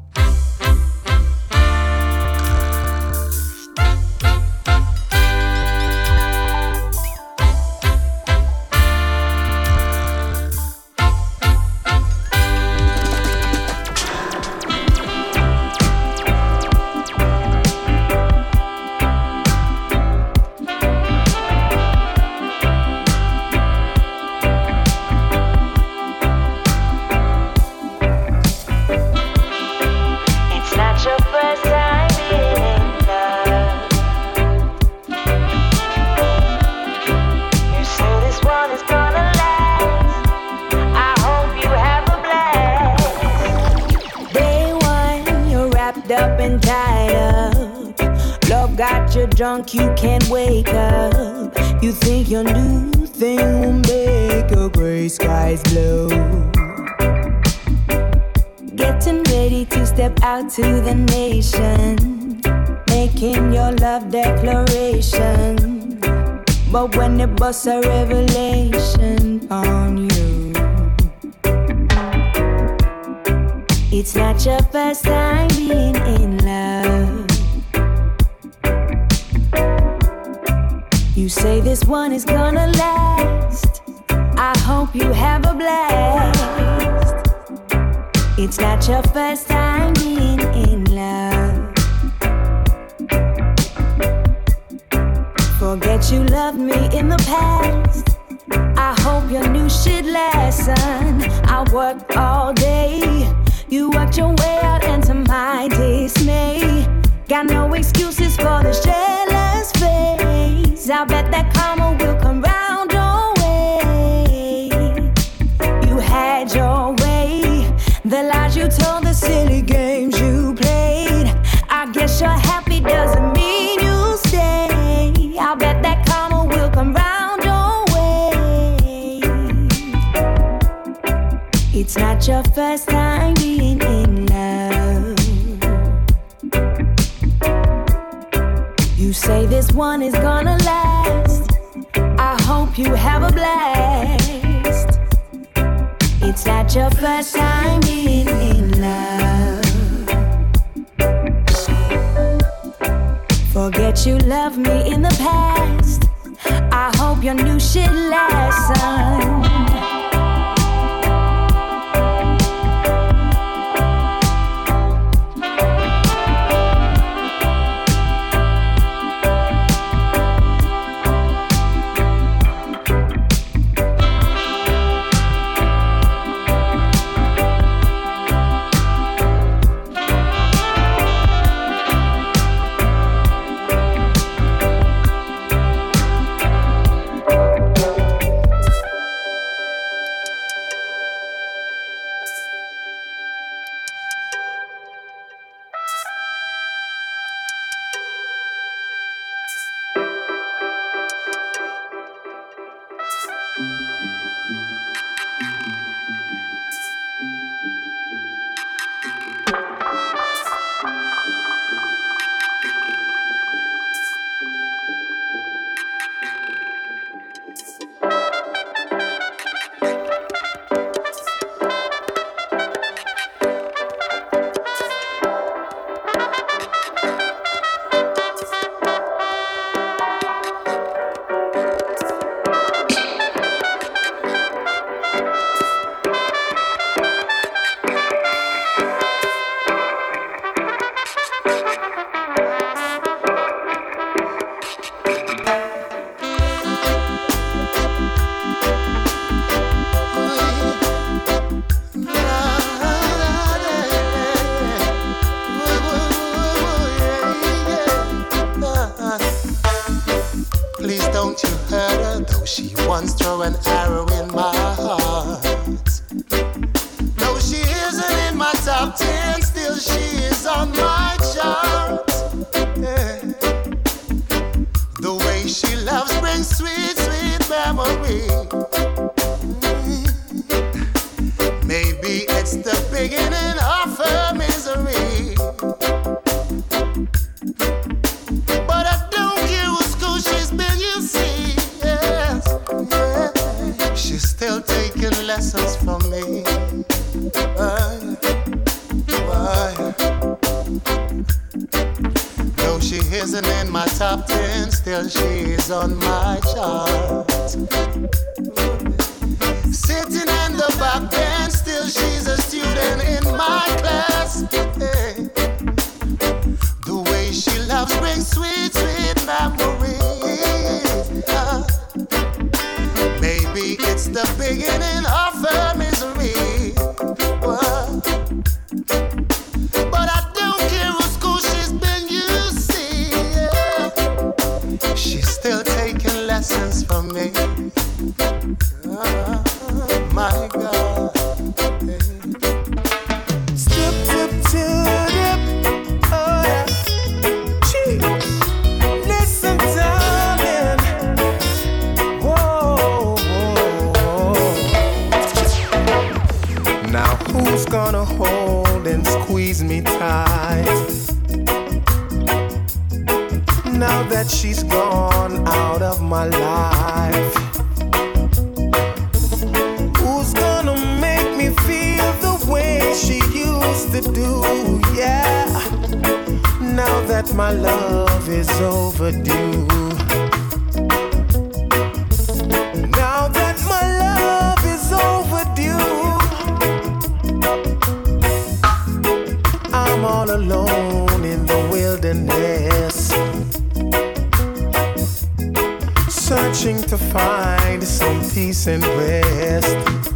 Drunk, you can't wake up. You think your new thing will make your gray skies blue. ready to step out to the nation, making your love declaration. But when it busts a revelation on you, it's not your first time being in love. You say this one is gonna last. I hope you have a blast. It's not your first time being in love. Forget you loved me in the past. I hope your new shit lesson. I worked all day. You worked your way out into my dismay. Got no excuses for this jealous face. I bet that karma will come round your way. You had your way. The lies you told, the silly games you played. I guess you're happy doesn't mean you stay. I bet that karma will come round your way. It's not your first time being in love. You say this one is gonna last. I hope you have a blast. It's not your first time being in love. Forget you loved me in the past. I hope your new shit lesson. squeeze me tight. Now that she's gone out of my life, who's gonna make me feel the way she used to do? Yeah, now that my love is overdue. Now that my love is overdue, I'm all alone in the wilderness, searching to find some peace and rest.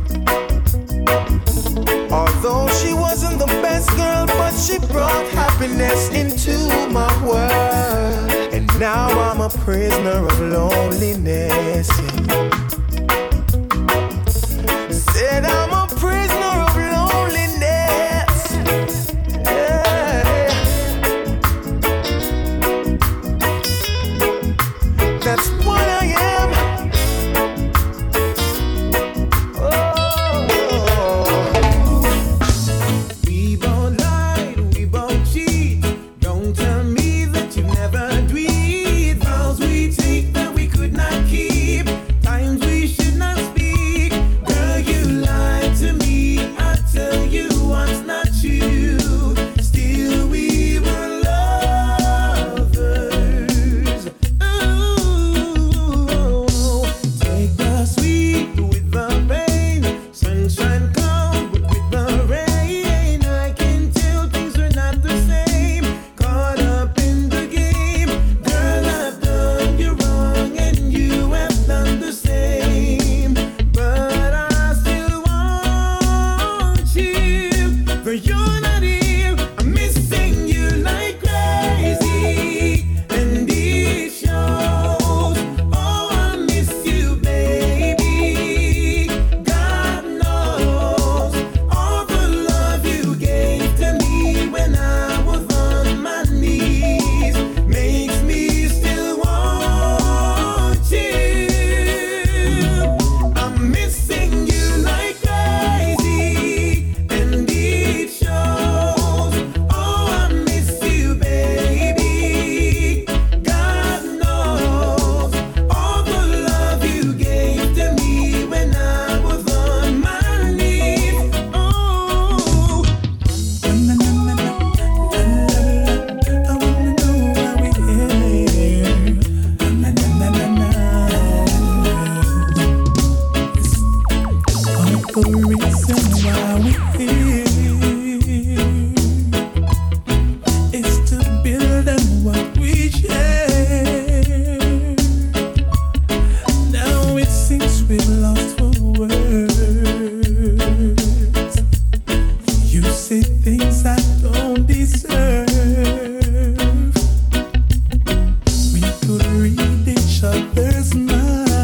Although she wasn't the best girl, but she brought happiness into my world. And now I'm a prisoner of loneliness. Said I'm a prisoner of loneliness. Yeah. That's what I am. We both lied, we both cheat. Don't tell me that you never breathe. Vows we take that we could not keep. Times we should not speak. Girl, you lied to me. I tell you what's not true. Still we were lovers. Ooh, take the sweet with the pain. Sunshine come with the rain. I can tell things are not the same. Caught up in the game. Girl, I've done you wrong and you have done the same. But I still want you. But you're not here. I'm missing you like crazy. And it shows. Oh, I miss you, baby. God knows all the love you gave to me when I was on my knees makes me still want you. I'm missing you like crazy, and it shows. Oh, I miss you, baby. God knows all the love you gave to me when I was on my knees. Oh, I wanna know why we're here. All the reason why we're here is to build on what we share. Now it seems we've lost for words. You say things I don't deserve. We could read each other's mind.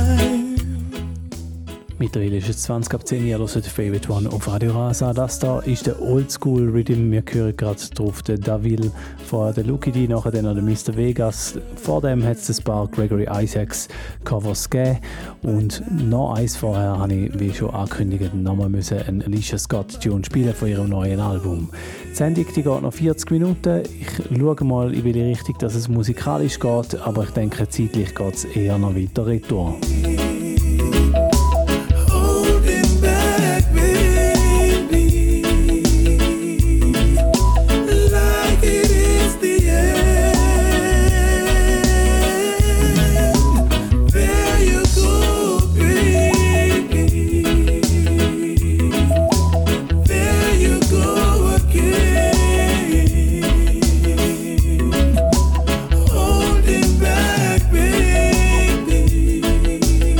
Mittlerweile ist es 20 ab 10 Jahre, hört Favorite One auf Radio Rasa. Das da ist der Oldschool Rhythm. Wir hören gerade drauf den Davil, vorher der Lucky D, nachher dann noch der Mr. Vegas. Vor dem hat es ein paar Gregory Isaacs Covers gegeben. Und noch eins vorher habe ich, wie schon angekündigt, nochmal einen Alicia Scott Tune spielen von ihrem neuen Album. Die Sendung die geht noch 40 Minuten. Ich schaue mal in welche Richtung dass es musikalisch geht, aber ich denke, zeitlich geht es eher noch weiter retour. Holding back, baby.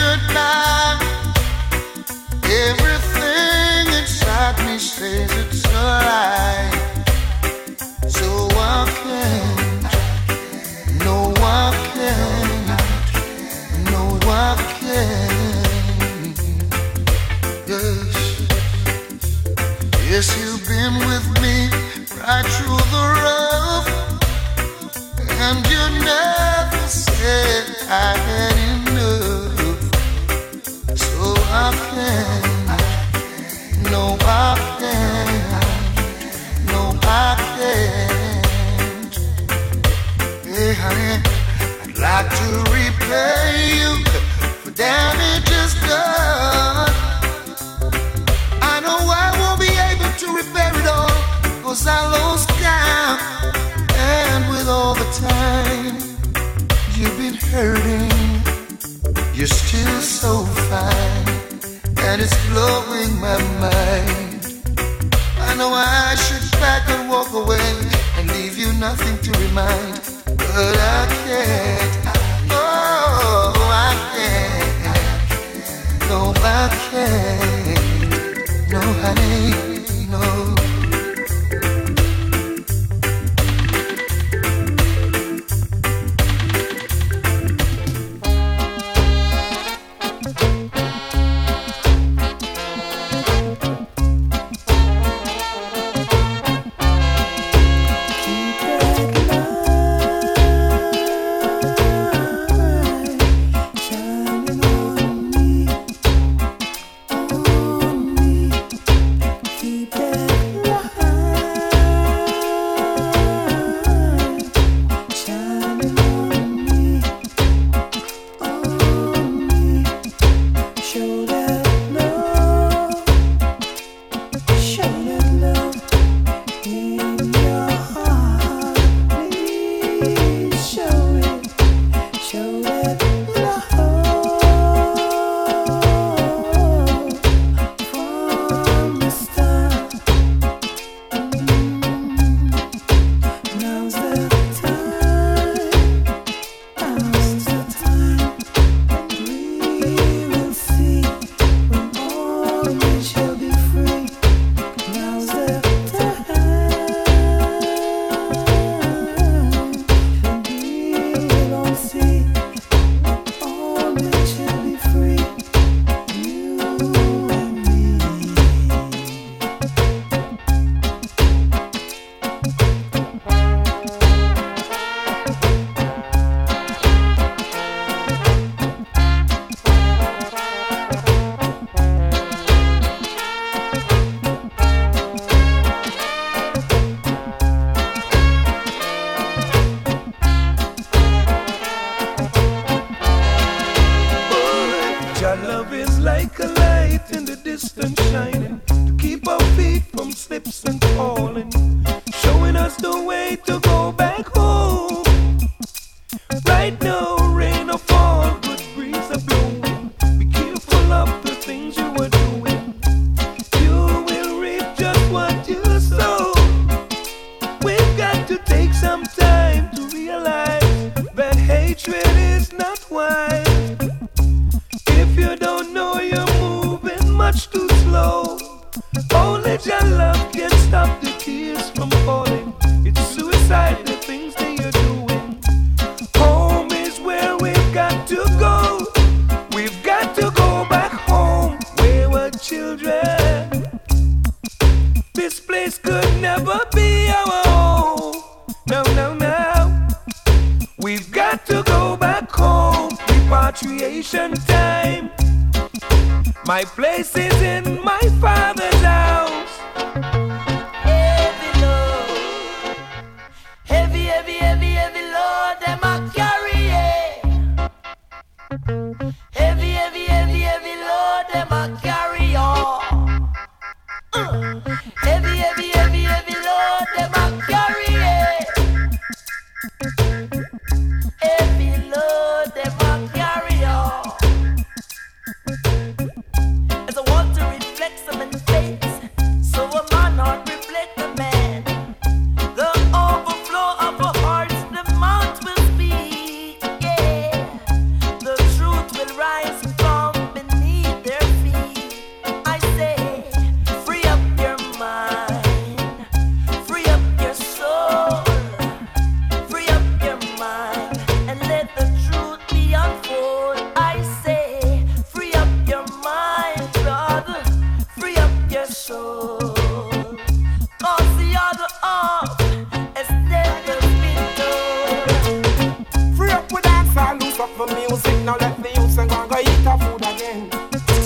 good night. Everything inside me says it's alright. So I can't, no I can't, no I can't. Yes, yes, you've been with me right through the rough, and you never said I had enough. So I can't, no I can't, no I can't. Hey honey, I'd like to repay you for damages done. I know I won't be able to repair it all, 'cause I lost count. And with all the time you've been hurting, you're still so fine, and it's blowing my mind. I know I should back and walk away and leave you nothing to remind, but I can't. Oh, I can't. No, I can't. No, honey, no.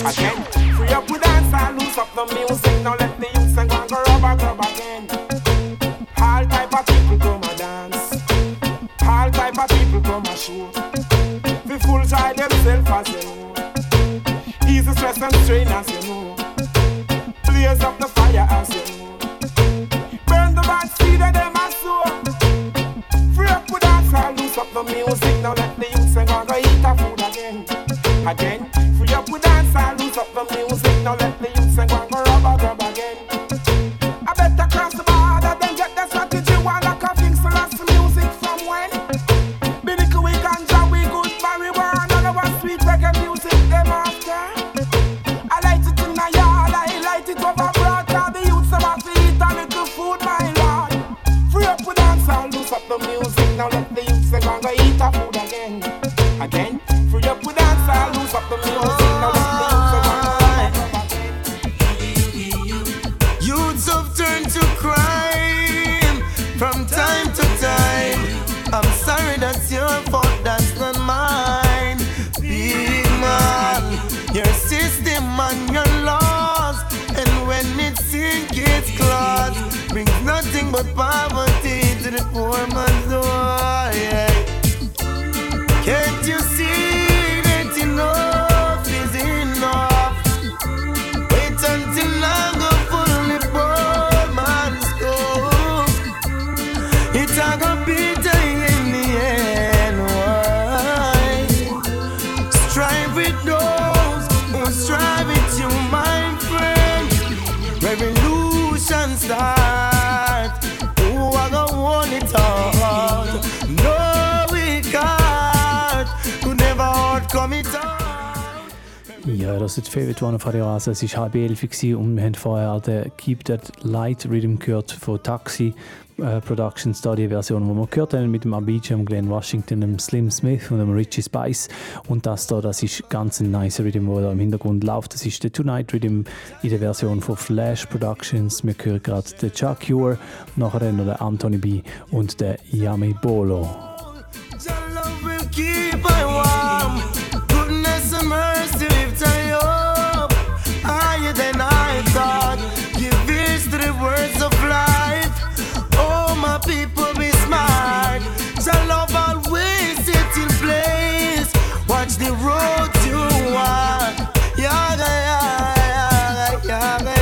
Again, free up with dance and loose up the music. Now let the youths and go and go rub again. All type of people come and dance. All type of people come and show. The fools try themselves as you know. Ease the stress and strain as you know. Blaze up the fire as you know. Burn the bad seed of them as sow. Free up with dance and loose up the music. Now let the youths and go and go eat a food again. Again, free up with dance and loose up the music. Now let the youths and go and go rub again. I better cross the border than get the strategy. While I can fix the last music from when Binnick we ganja, we good marijuana. None of us sweet reggae music, them after. I light it in the yard, I light it over broad. Cause the youths about to eat a little food, my lord. Free up with dance and loose up the music. Now let the youths and go and go eat a food again. Again, free up with dance and loose up the music. Now let the youths and go and go Youths have turned to crime from time to time. I'm sorry, that's your fault, that's not mine. Big man, your system and your laws, and when it sinks its claws, brings nothing but poverty to the poor man's door. Yeah. Can't you see that enough is enough? Wait until I go fully poor man's scope. It's a go bitter in the end. Why? Strive with those who strive with you, my friend. Revolution start. Oh, I go want it all. No, we can't. Could never outcome it all. Ja, das ist die Favorite One auf Radio Rasa. Es war 10:30 und wir haben vorher den Keep That Light Rhythm gehört von Taxi Productions, da die Version, die wir gehört haben mit dem Abidjan, Glenn Washington, dem Slim Smith und dem Richie Spice. Und das da, das ist ganz ein nice Rhythm, der da im Hintergrund läuft. Das ist der Tonight Rhythm in der Version von Flash Productions. Wir hören gerade den Chuck Cure, nachher dann noch der Anthony B und der Yami Bolo. Keep I warm, goodness and mercy lift I up, higher than I thought. Give ears to the words of life. Oh, my people, be smart. Shall love always sit in place. Watch the road you walk. Yaga, yaga, yaga,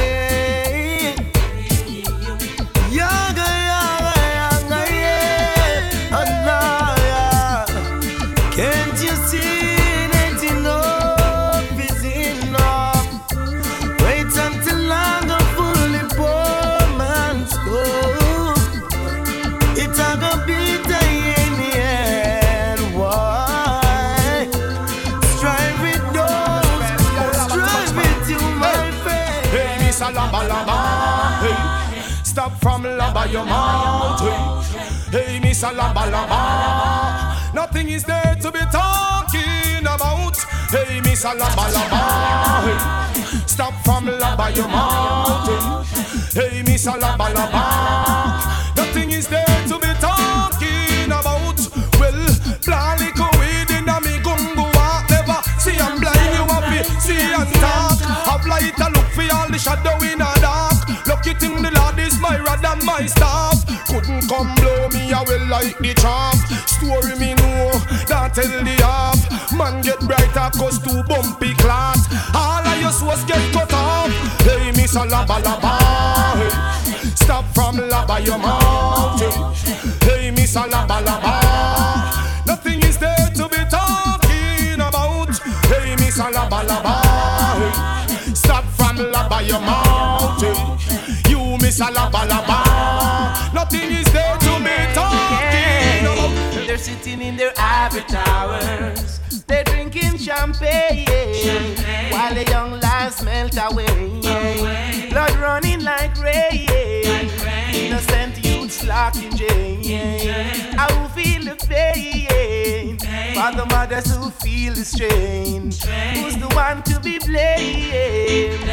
yaga, yaga, yaga, yeah. And now, yeah. Can't you see that enough is enough? Wait until I go fully poor man's scope. It's a go bitter in the end. Why? Strive with those who strive with you, my friend. Hey, Miss Lamba Lamba, hey, stop from Lamba your mouth. Hey, Miss Lamba Lamba, nothing is there to be talking about. Hey, Miss Lamba Lamba, hey, stop from Lamba your mouth. Hey, Miss Lamba Lamba, nothing is there to be talking about. Well, plan little weed in a me gungo walk. Never see I'm blind, you happy, see and talk. Have light a look for all the shadow in a dark. Lucky thing the Lord is my rod and my staff. Couldn't come blow me, I will like the chaff. Story me know, that tell the half. Man get brighter cause too bumpy class. All of your souls get cut off. Hey, Miss Lamba Lamba, hey, stop from Lamba your mouth. Hey, Miss Lamba Lamba, nothing is there to be talking about. Hey, Miss Lamba Lamba, hey, stop from Lamba your mouth. You, Miss Lamba Lamba, nothing is there to be talking about. They're sitting in their ivory towers. They're drinking champagne, while the young lives melt away. Blood running like rain. Innocent youths locked in jail. I will feel the pain for the mothers who feel the strain. Who's the one to be blamed?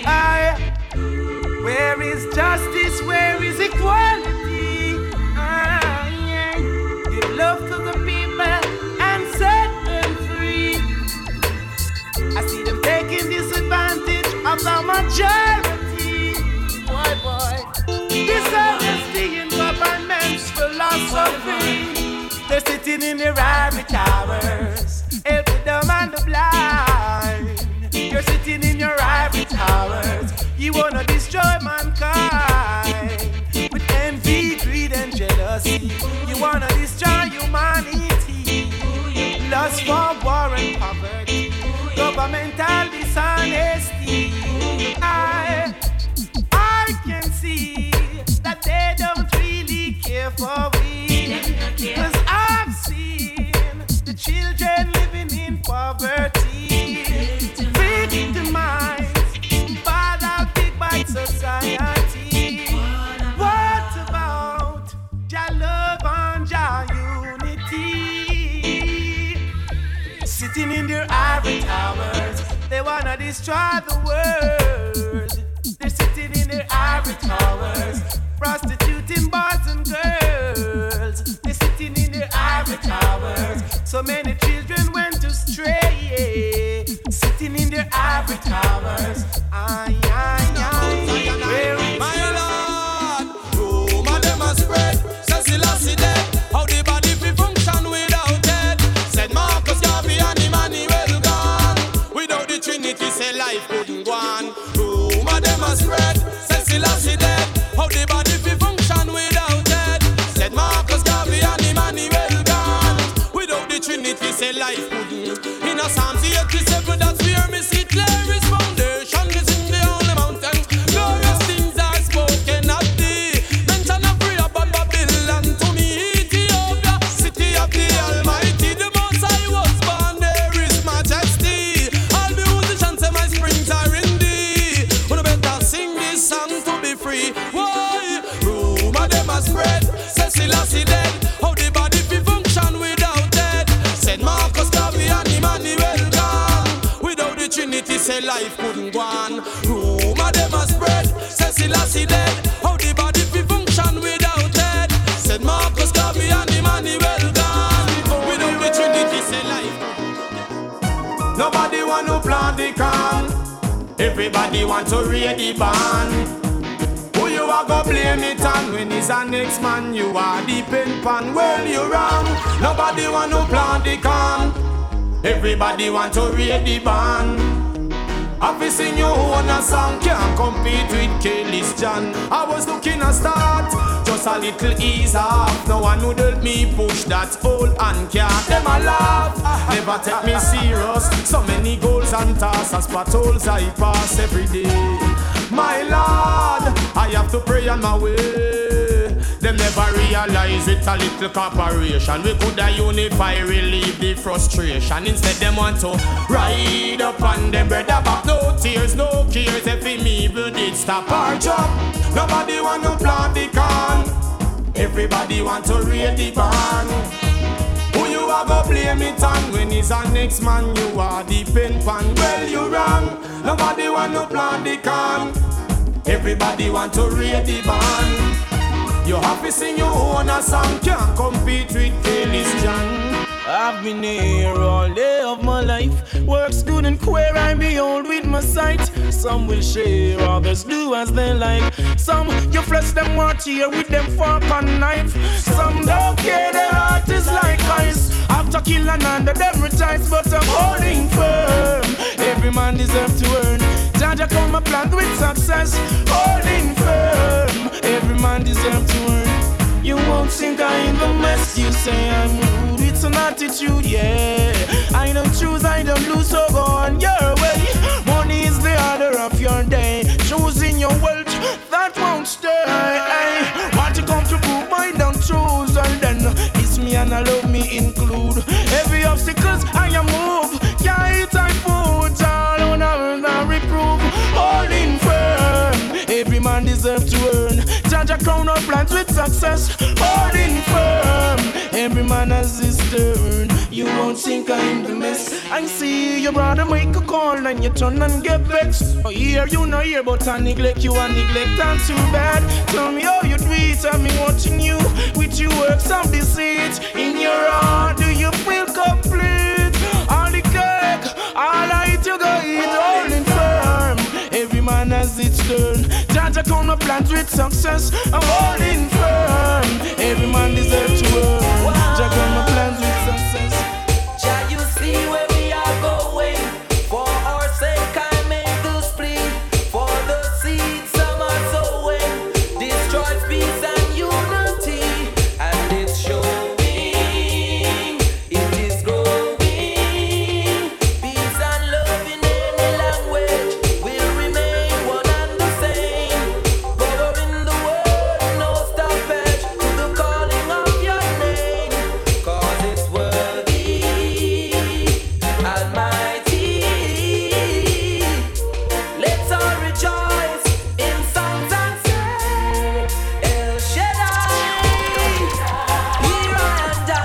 Where is justice? Where is equality? Give love to the people and set them free. I see them taking this majority. Boy. Dishonesty in government's philosophy. They're sitting in their ivory towers, helping them and the blind. You're sitting in your ivory towers. You wanna destroy mankind with envy, greed, and jealousy. You wanna destroy humanity. Lust for war and poverty, governmental dishonesty. I can see that they don't really care for we. 'Cause I've seen the children living in poverty, victimized by the big bite society. What about your love and your unity? Sitting in their ivory towers, they wanna destroy the world. They're sitting in their ivory towers, prostituting boys and girls. They're sitting in their ivory towers. So many children went astray, sitting in their ivory towers. My Lord, rumor them a spread. Says Selassie dead. How the body fi function without head? Said Marcus Garvey and Emmanuel gone. Without the Trinity, say life couldn't go on. Rumor them a spread. Says Selassie dead. How the body fi function without head? Said Marcus Garvey and Emmanuel gone. Without the Trinity, say life couldn't. In a Psalms 87, that's where me see Clary's foundation is in the holy mountain. Glorious things are spoken of thee. Mention of Rehoboam, Babylon, to me Ethiopia, city of the Almighty. The Most High was born, there is majesty. All the musicians say my springs are in thee. Wanna better sing this song to be free. Why? Rumor them a spread. Says Selassie dead. How the body fi function without dead? Said Marcus Garvey and Emmanuel gone. Without the Trinity, say life couldn't go on. Rumor them a spread. Says Selassie dead. How the body fi function without dead? Said Marcus Garvey and Emmanuel gone. Without the Trinity, say life. Nobody want to plant the can. Everybody want to read the band. Who you are go blame it on? When it's a next man, you are the pen pan. Well, you wrong. Nobody want to plant the can. Everybody want to read the band. I've seen you own a song, can't compete with Kelly's John. I was looking a start, just a little ease off. No one would help me push that old and can't. Them a laugh, never take me serious. So many goals and tasks as patrols I pass every day. My Lord, I have to pray on my way. Them never realize it's a little corporation. We coulda unify, relieve the frustration. Instead them want to ride up on them brother back. No tears, no cares. If him evil did stop our job. Nobody want to plant the can. Everybody want to read the band. Who you are go blame it on? When he's a next man, you are the pen pan. Well, you wrong. Nobody want to plant the can. Everybody want to read the band. You have to sing your own a song, can't compete with Kelly's John. I've been here all day of my life. Works good and queer, I behold with my sight. Some will share, others do as they like. Some you flesh them want here with them fork and knife. Some don't care, their heart is like ice. After killing under them retires, but I'm holding firm. Every man deserves to earn. Jaja come a plant with success, holding firm. Every man deserves to earn. You won't think I in the mess. You say I'm rude, it's an attitude, yeah. I don't choose, I don't lose, so go on your way. Money is the order of your day. Choosing your wealth, that won't stay. Want to come to prove I don't choose, and then it's me and I love me include. Every obstacles I am move, can't eat I food, all on a reprove. Holding firm, every man deserves to earn. Jaja crown up plans with success, holding firm. Every man has his turn. You won't think I'm the mess. I see your brother make a call and you turn and get vexed. Oh, here you know here, but I neglect you and neglect I'm too bad. Tell me how you do it, I'm watching you with your works of deceit. In your heart, do you feel complete? All the cake, all I eat you go eat, holding firm. Every man man has its turn. Jaja count my plans with success. I'm holding firm. Every man deserves to earn. Jaja count my plans with success. Jah, you see where we are going. For our sake, I make this plea. For the seed some are sowing, destroys peace and unity, and it's showing. It is growing. Peace and love in any language will remain one and the same. Power in the world, no stoppage to the calling of your name. 'Cause it's worthy, Almighty. Let's all rejoice in songs and say, El Shaddai, here and I,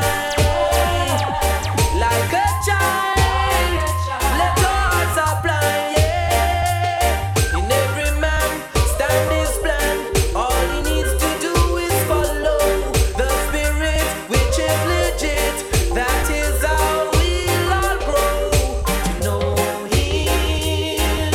like a child, let our hearts apply, yeah. In every man stand his plan, all he needs to do is follow the spirit which is legit. That is how we'll all grow to know him,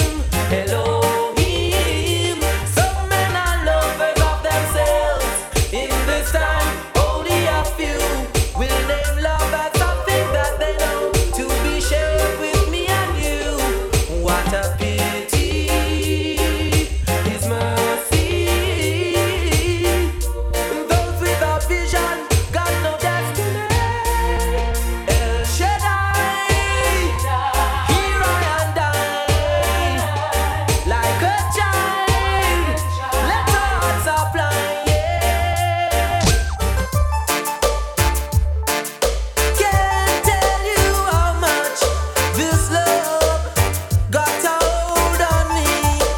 Elohim. Some men are lovers of themselves. In this time, only a few will name love as something that they know to be shared with me and you. What a pity, His mercy. Those without vision got no destiny. El Shaddai, here I and I, like a child, let our hearts apply, yeah. Can't tell you how much this love got a hold on me.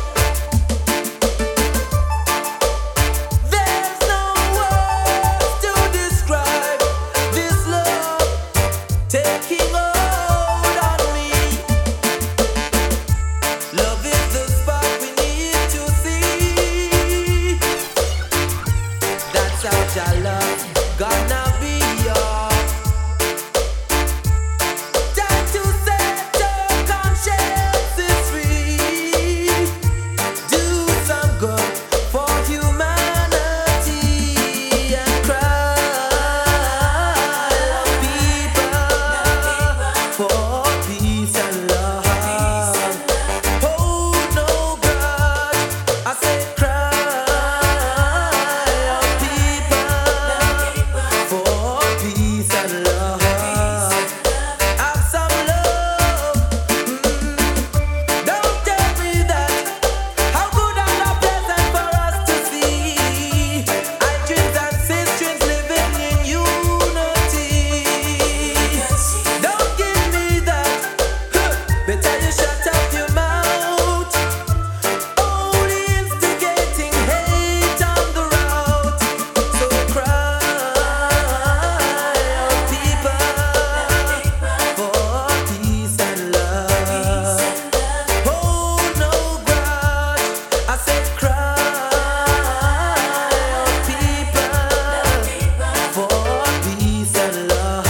There's no words to describe this love taking hold on me. Love is the spark we need to see. That's how Jah love gonna be yours. Time to set your consciences free. Do some good for humanity and cry, people, for peace and love. Hold no grudge, I say cry, people, for peace and love. Have some love. Don't tell me that. How good and how pleasant for us to see. I dreams and sisters living in unity. Don't give me that. Better you shut up your mouth. Only instigating hate on the route. So cry, people, for peace and love. Hold no grudge, I said cry, people, for peace and love.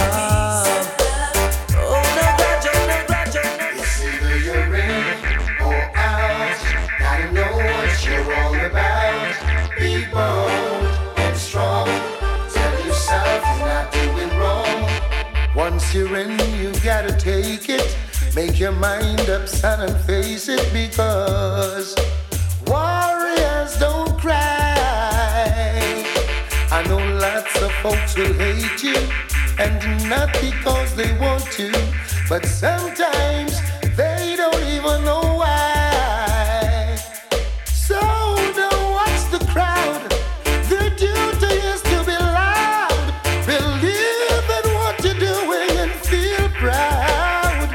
Oh no grudge, oh no grudge, oh no grudge. It's either you're in or out. Gotta know what you're all about. Be bold and strong. Tell yourself you're not doing wrong. Once you're in, you gotta take it. Make your mind up, son, and face it, because warriors don't cry. I know lots of folks will hate you, and not because they want to, but sometimes they don't even know why. So don't watch the crowd. Their duty is to be loud. Believe in what you're doing and feel proud.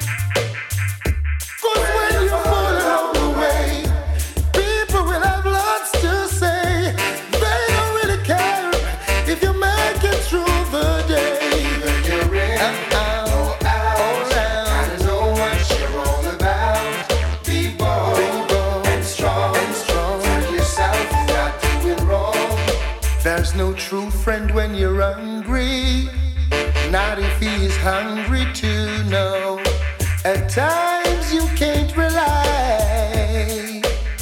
'Cause when you fall along the way, people will have lots to say. They don't really care if you make it through the day. You're in or out. Gotta know what you're all about. Be bold and strong. Tell yourself you're not doing wrong. There's no true friend when you're hungry. Not if he is hungry too, no. At times you can't rely.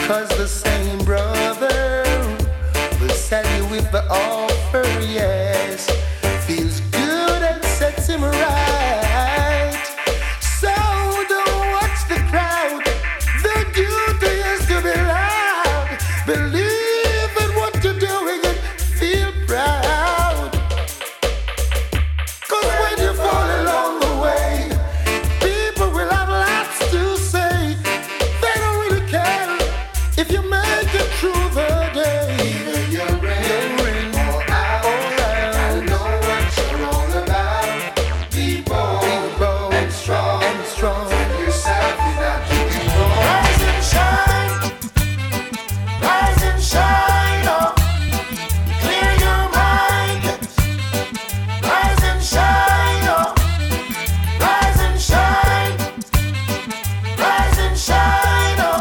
'cause the same brother will sell you with the offer, yes. Feels good and sets him right. So don't watch the crowd. The duty is to be loud. Believe in what you're doing and feel proud. 'Cause when you fall along the way, people will have lots to say. They don't really care if you make it through the day. You're in or out. I know what you're all about. Be bold and strong. Tell yourself you're not doing wrong. Rise and shine. Rise and shine. Oh. Clear your mind. Rise and shine. Oh. Rise and shine. Rise and shine. Oh.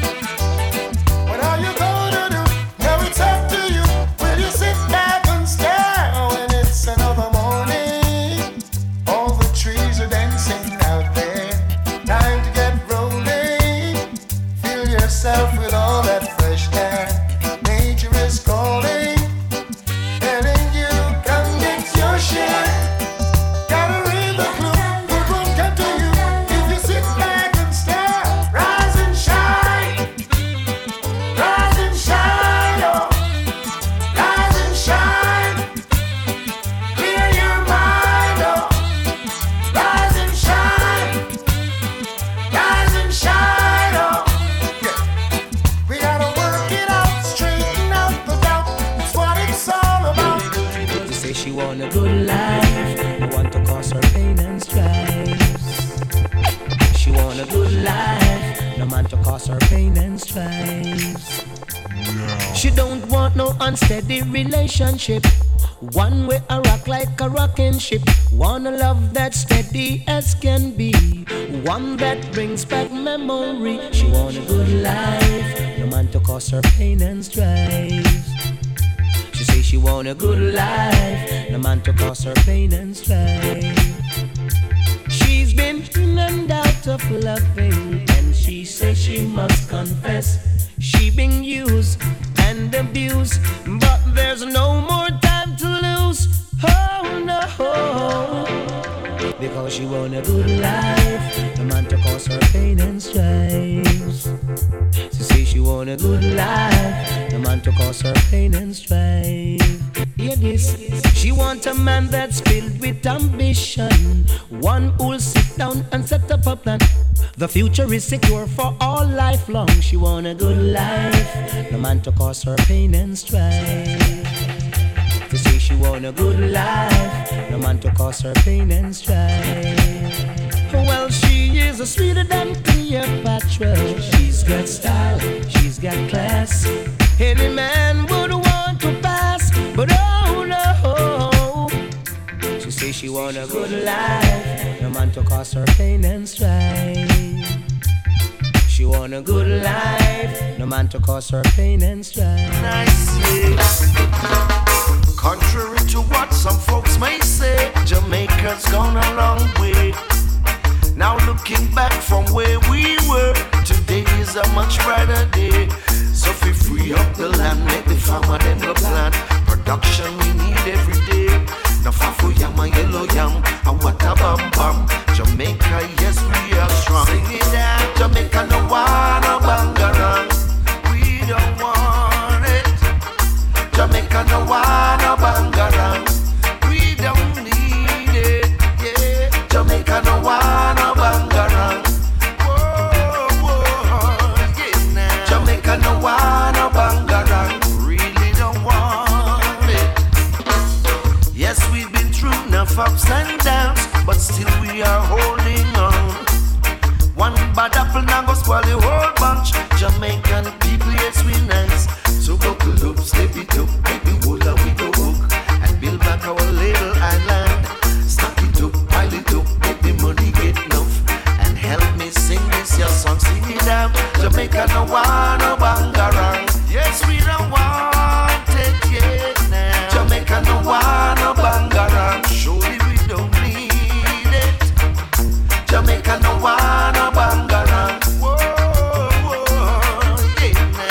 What are you gonna do? Now it's up to you. Will you sit back and stare when it's another morning? All the trees are dancing out there. Time to get rolling. Fill yourself with all that fresh air. Nature is calling, telling you come get your share. Gotta read the clue. Good one come to you if you sit back and stare. Rise and shine. Rise and shine. Oh. Rise and shine. Clear your mind. Oh. Rise and shine. Rise and shine. Oh. Yeah. We gotta work it out, straighten out the doubt. It's what it's all about. She say she want a good life, I want to cause her pain and strife. She want a good life, no man to cause her pain and strife. She don't want no unsteady relationship. One way I rock like a rocking ship. Want a love that's steady as can be. One that brings back memory. She want a good life, no man to cause her pain and strife. She say she want a good life, no man to cause her pain and strife. She's been in and out of loving, and she says she must confess she been used and abused, but there's no more time to lose. Oh no, because she want a good life, no man to cause her pain and strife. She say she want a good life, no man to cause her pain and strife. Hear this, she want a man that's filled with ambition, one who'll sit down and set up a plan. The future is secure for all life long. She want a good life, no man to cause her pain and strife. To say she want a good life, no man to cause her pain and strife. Well, she is a sweeter than Cleopatra. She's got style, she's got class. Any man would want to pass, but oh no. She say she want a good life, no man to cause her pain and strife. She want a good life, no man to cause her pain and strife. Contrary to what some folks may say, Jamaica's gone a long way. Now looking back from where we were, today is a much brighter day. So if we free up the land, make the farmer them go plant. Production we need every day. Now fafu yam and yellow yam, and what a bam bam. Jamaica, yes we are strong. Sing it down, Jamaica no wanna bangarang. We don't want it. Jamaica no wanna bangarang. We don't need it. Yeah, Jamaica no wanna bangarang. Whoa, yeah, now. Jamaica no wanna bangarang. Really don't want it. Yes, we've been through enough ups and downs, but still we are holding on. One bad apple now go spoil the whole bunch. Jamaican people, yes we nice. So buckle up, step it up, make the whole that we go hook and build back our little island. Stack it up, pile it up, make the money get enough. And help me sing this your song, sing it out. Jamaica no wanna bangarang. Yes, we don't want it yet now. Jamaica no wanna bangarang. Surely we don't need it. Jamaica no wanna bangarang. Whoa, yeah.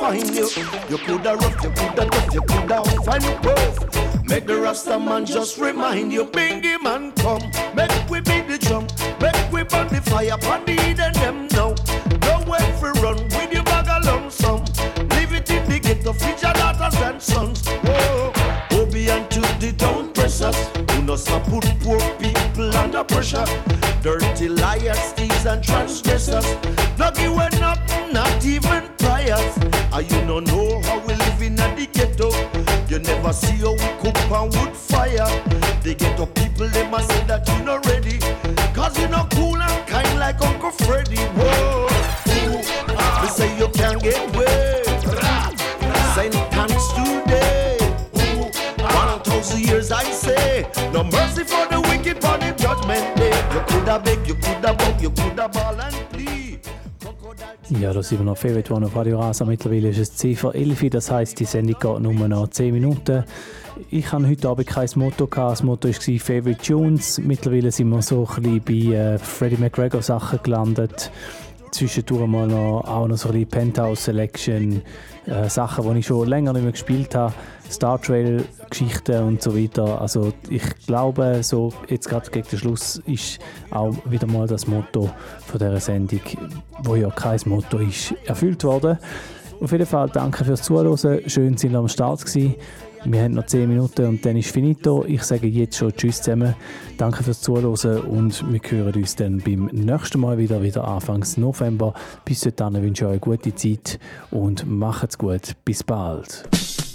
find you. You coulda rough, you coulda tough, you coulda find you both. Make the Rasta man just remind you, Bingy man come. Make we beat the drum, make we burn the fire, pon the heat and them now. Nowhere for run with your bag of lump sum. Leave it in the ghetto, feed your daughters and sons. Whoa, Obi and Tuesday don't press us. You know some put poor people under pressure. Dirty liars, thieves and transgressors. Not giving up, not even prayers. And you don't know how we live in the ghetto. You never see how we cook on wood fire. The ghetto people, they must say that you not ready. Cause you not cool and kind like Uncle Freddy. Whoa, they say you can't get away. Sentence today. 1,000 years I say. No mercy for the wicked on the judgment day. You coulda beg, you coulda bug, you coulda ball and plea. Ja, da sind wir noch Favorite One auf Radio Rasa. Mittlerweile ist es 10 vor 11, das heisst, die Sendung geht nur noch 10 Minuten. Ich hatte heute Abend kein Motto. Das Motto war Favorite Tunes. Mittlerweile sind wir so ein bisschen bei Freddie McGregor Sachen gelandet. Zwischendurch mal auch noch so ein bisschen Penthouse Selection, Sachen, die ich schon länger nicht mehr gespielt habe, Star Trail Geschichten und so weiter. Also ich glaube, so jetzt gerade gegen den Schluss ist auch wieder mal das Motto von dieser Sendung, wo ja kein Motto ist, erfüllt worden. Auf jeden Fall danke fürs Zuhören, schön sind wir am Start gewesen. Wir haben noch 10 Minuten und dann ist finito. Ich sage jetzt schon Tschüss zusammen. Danke fürs Zuhören und wir hören uns dann beim nächsten Mal wieder Anfangs November. Bis dahin wünsche ich euch eine gute Zeit und macht's gut. Bis bald.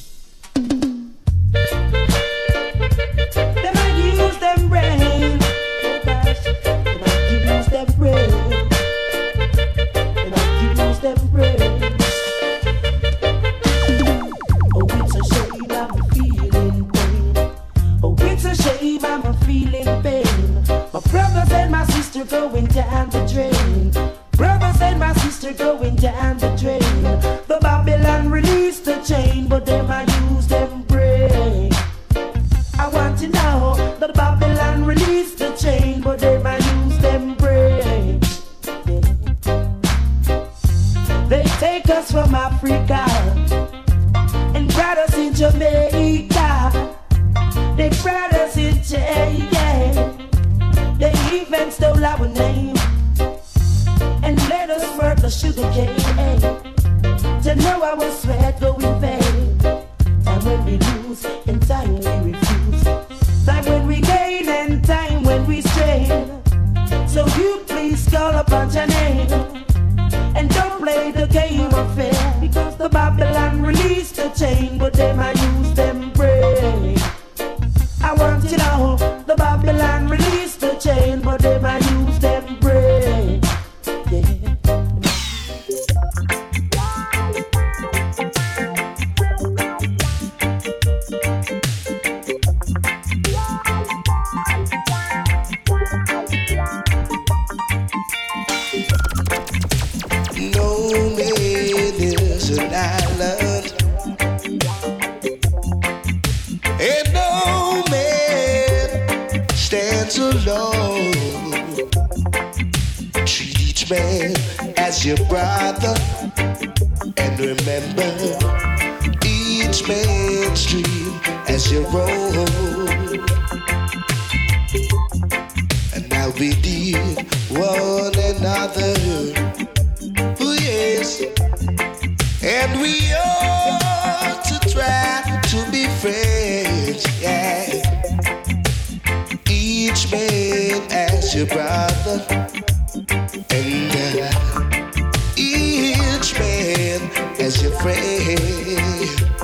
Brothers and my sister going down the drain. Brothers and my sister going down the drain. The Babylon released the chain, but them I use them brain. I want to know that Babylon released the chain, but them I use them brain. They take us from Africa and brought us in Jamaica. They brought us in Jamaica. They even stole our name and let us work the sugar cane. To know our sweat go in vain. Time when we lose and time we refuse. Time when we gain and time when we strain. So you please call upon your name and don't play the game of fair. Because the Babylon released the chain, but they might use them brain. I want you to know the Babylon released the chain, but they might use them brain. No man is an island, and no man stands alone. Treat each man as your brother, and remember each man's dream as your own. And now we need one another. Oh yes, and we ought to try to be friends, yeah. Each man as your brother, and each man as your friend.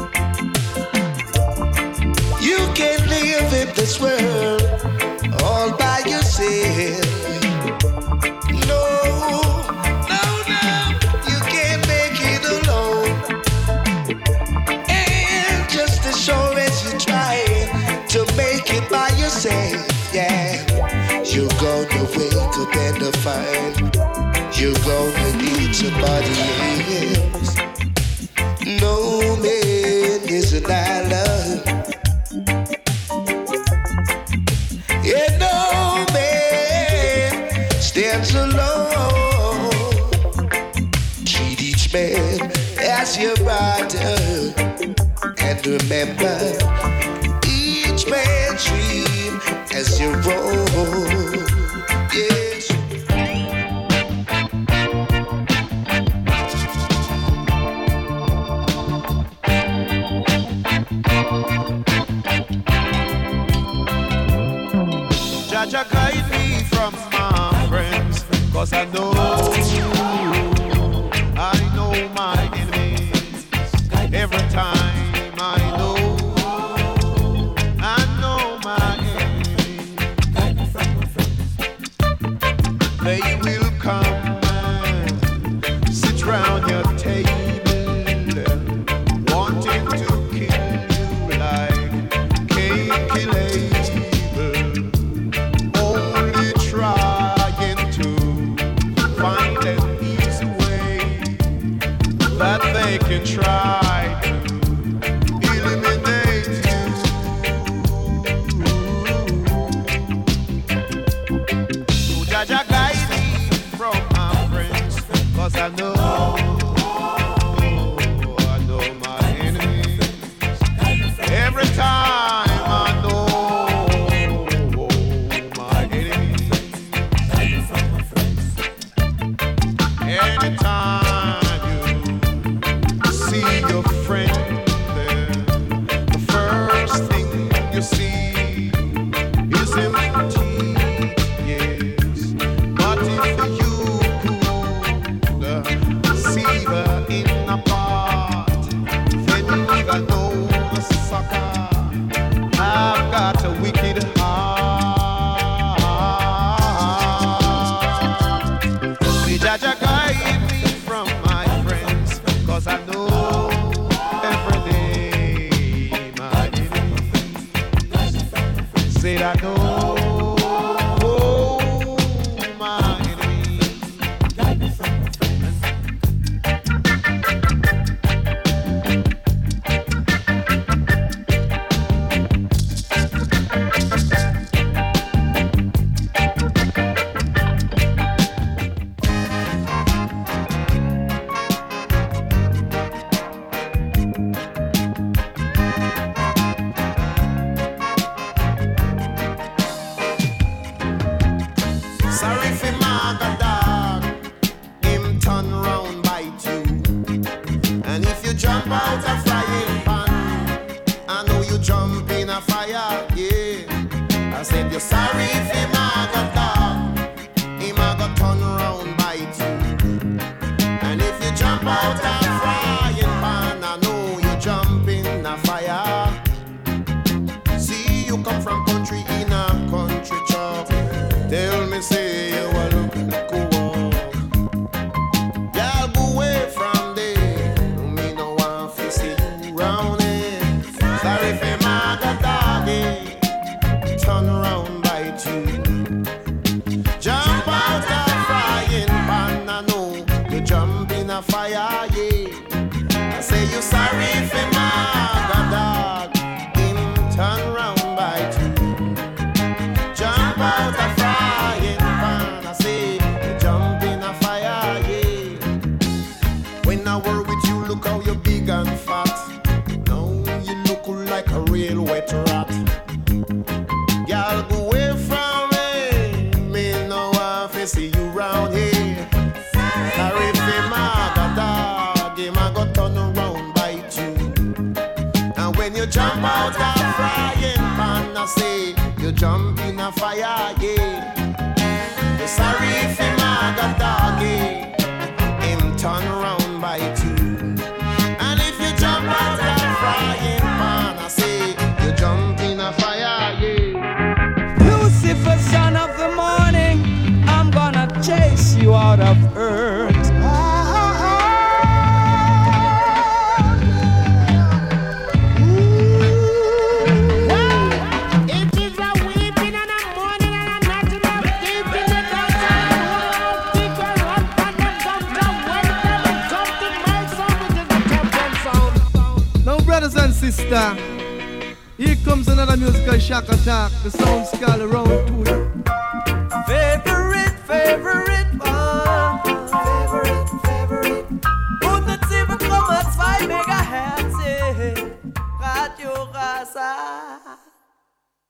You can't live in this world all by yourself. Yeah, you're gonna wake up and find you're gonna need somebody else. No man is an island, yeah, no man stands alone. Treat each man as your brother. Remember each man's dream as you roll. Yes. Jaja guide me from my friends, 'cause I know my enemies. Every time I know my enemies. They will come and sit round your table, wanting to kill you like Cain killed Abel, only trying to find an easy way that they can try to eliminate you. So Jaja guide me from my friends, 'cause I know my enemies. Every time I know my enemies. Anytime you see your friend there, the first thing you see is empty, yes. But if you could see her in a part, then you will know the sucker. I've got a wicked heart. May Jaja guide me from my friends, 'cause I know every day my enemies. Said I know my enemies. Sorry for my dog, him turn round bite you. And if you jump out a frying pan, I know you jump in a fire, yeah. I said you're sorry for my dog, him a go turn round bite you. And if you jump out a frying pan, I know you jump in a fire. See, you come from country in a country chop. Tell me, say you a look walk. Y'all go away from there. Me no want to see you round here. Sorry for my doggy, turn around bite you. Jump out a frying pan, I know you jump in a fire, yeah. I say you sorry for my dog, him turn round bite you. Jump out a frying pan, I say you jump in a fire, yeah. When I work with you, look how you're big and fat. Now you look like a real wet rat. Y'all go away from me no want to see you round here. Sorry for my dog, him a go turn around bite you. And when you jump out a frying pan, I say you jump in a fire, yeah. You're sorry for my doggy, him turn around bite you. And if you jump out a frying pan, I say you jump in a fire, yeah. Lucifer, son of the morning, I'm gonna chase you out of earth. Brothers and sisters, here comes another musical shock attack. The sound skull around to you. Favorite